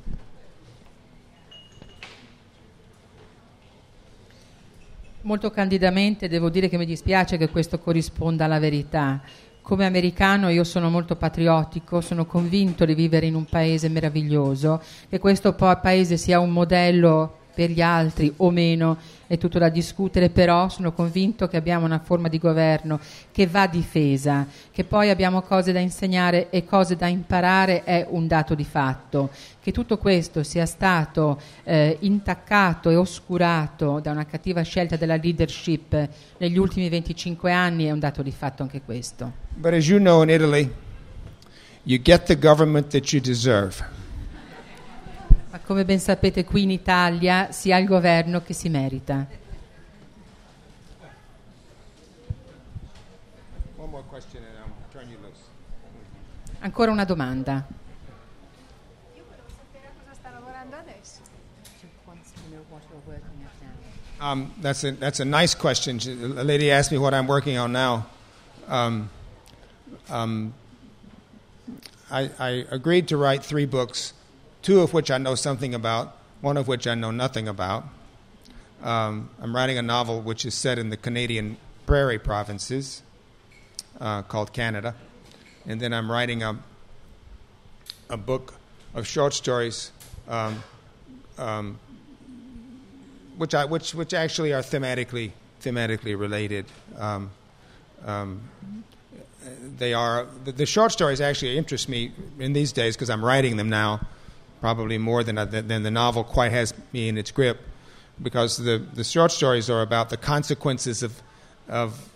Molto candidamente devo dire che mi dispiace che questo corrisponda alla verità. Come americano io sono molto patriottico, sono convinto di vivere in un paese meraviglioso, che questo paese sia un modello per gli altri o meno è tutto da discutere, però sono convinto che abbiamo una forma di governo che va difesa, che poi abbiamo cose da insegnare e cose da imparare è un dato di fatto. Che tutto questo sia stato intaccato e oscurato da una cattiva scelta della leadership negli ultimi 25 anni è un dato di fatto anche questo. But as you know, in Italy, you get the government that you deserve. Ma come ben sapete, qui in Italia si ha il governo che si merita. One more question and I'll turn you loose. Ancora una domanda. Io volevo sapere a cosa sta lavorando adesso. That's a nice question. A lady asked me what I'm working on now. I agreed to write 3 books, 2 of which I know something about, 1 of which I know nothing about. I'm writing a novel which is set in the Canadian prairie provinces, called Canada. And then I'm writing a book of short stories which actually are thematically related. They are the short stories actually interest me in these days because I'm writing them now, probably more than the novel quite has me in its grip, because the short stories are about the consequences of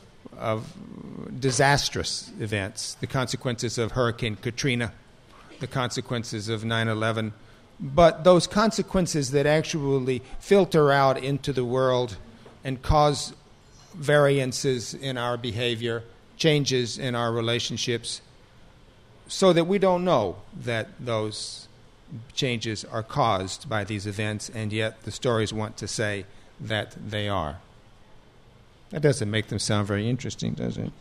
disastrous events, the consequences of Hurricane Katrina, the consequences of 9/11. But those consequences that actually filter out into the world and cause variances in our behavior, changes in our relationships, so that we don't know that those changes are caused by these events, and yet the stories want to say that they are. That doesn't make them sound very interesting, does it?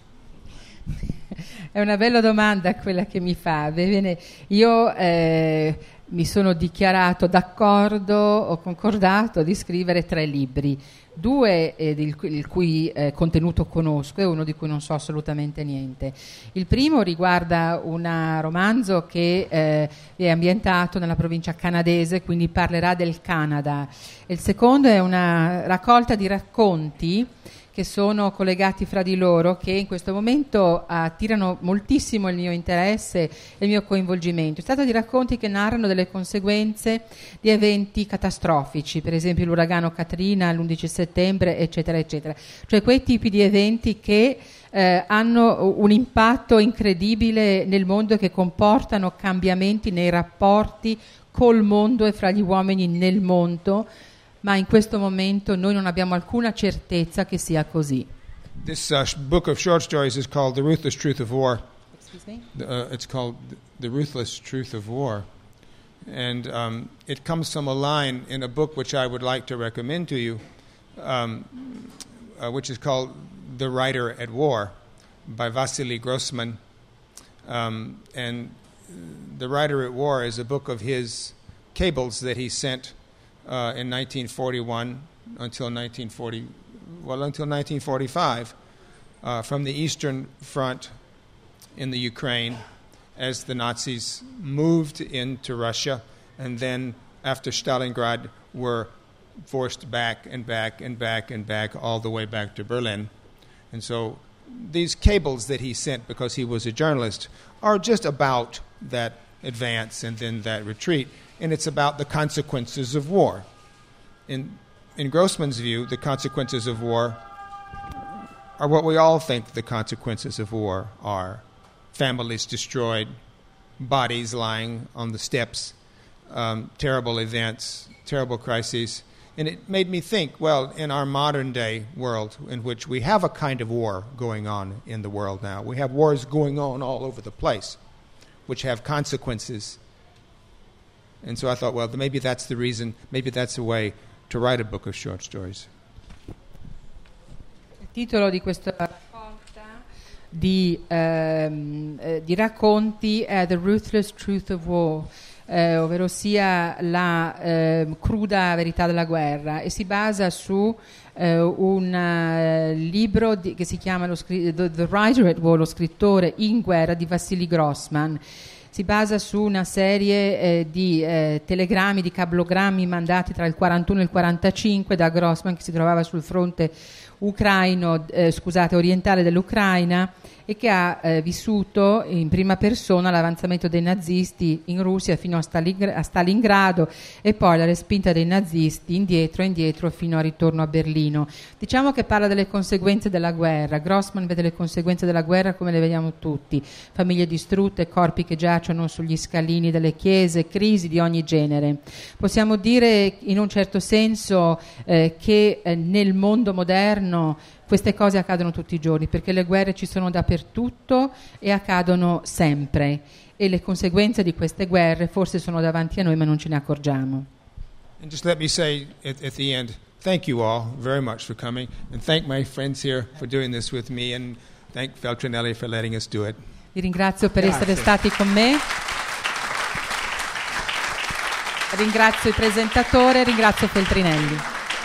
È una bella domanda quella che mi fa. Bene, io mi sono dichiarato d'accordo, ho concordato di scrivere 3 libri, 2 il cui contenuto conosco e 1 di cui non so assolutamente niente. Il primo riguarda un romanzo che è ambientato nella provincia canadese, quindi parlerà del Canada. E il secondo è una raccolta di racconti che sono collegati fra di loro, che in questo momento attirano moltissimo il mio interesse e il mio coinvolgimento. Si tratta di racconti che narrano delle conseguenze di eventi catastrofici, per esempio l'uragano Katrina l'11 settembre, eccetera, eccetera. Cioè quei tipi di eventi che hanno un impatto incredibile nel mondo e che comportano cambiamenti nei rapporti col mondo e fra gli uomini nel mondo, ma in questo momento noi non abbiamo alcuna certezza che sia così. This book of short stories is called The Ruthless Truth of War. Excuse me? It's called The Ruthless Truth of War. And it comes from a line in a book which I would like to recommend to you, which is called The Writer at War by Vasily Grossman. And The Writer at War is a book of his cables that he sent in 1941 until 1945 from the Eastern Front in the Ukraine as the Nazis moved into Russia, and then after Stalingrad were forced back and back and back and back all the way back to Berlin. And so these cables that he sent, because he was a journalist, are just about that advance and then that retreat. And it's about the consequences of war. In Grossman's view, the consequences of war are what we all think the consequences of war are. Families destroyed, bodies lying on the steps, terrible events, terrible crises. And it made me think, well, in our modern-day world, in which we have a kind of war going on in the world now, we have wars going on all over the place, which have consequences. And so I thought, well, maybe that's the reason, maybe that's a way to write a book of short stories. Il titolo di questa raccolta di racconti è The Ruthless Truth of War, ovvero sia la cruda verità della guerra, e si basa su un libro che si chiama The Writer at War, lo scrittore in guerra, di Vasily Grossman. Si basa su una serie di telegrammi, di cablogrammi mandati tra il 41 e il 45 da Grossman, che si trovava sul fronte orientale dell'Ucraina, e che ha vissuto in prima persona l'avanzamento dei nazisti in Russia fino a Stalingrado e poi la respinta dei nazisti indietro fino al ritorno a Berlino. Diciamo che parla delle conseguenze della guerra. Grossman vede le conseguenze della guerra come le vediamo tutti: famiglie distrutte, corpi che giacciono sugli scalini delle chiese, crisi di ogni genere. Possiamo dire in un certo senso che nel mondo moderno queste cose accadono tutti i giorni, perché le guerre ci sono dappertutto e accadono sempre, e le conseguenze di queste guerre forse sono davanti a noi ma non ce ne accorgiamo. And just let me say at the end, thank you all very much for coming, and thank my friends here for doing this with me, and thank Feltrinelli for letting us do it. Vi ringrazio per essere stati con me. Ringrazio il presentatore, ringrazio Feltrinelli.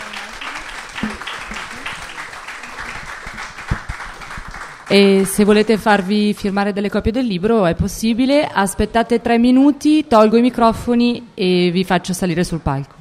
E se volete farvi firmare delle copie del libro è possibile, aspettate 3 minuti, tolgo i microfoni e vi faccio salire sul palco.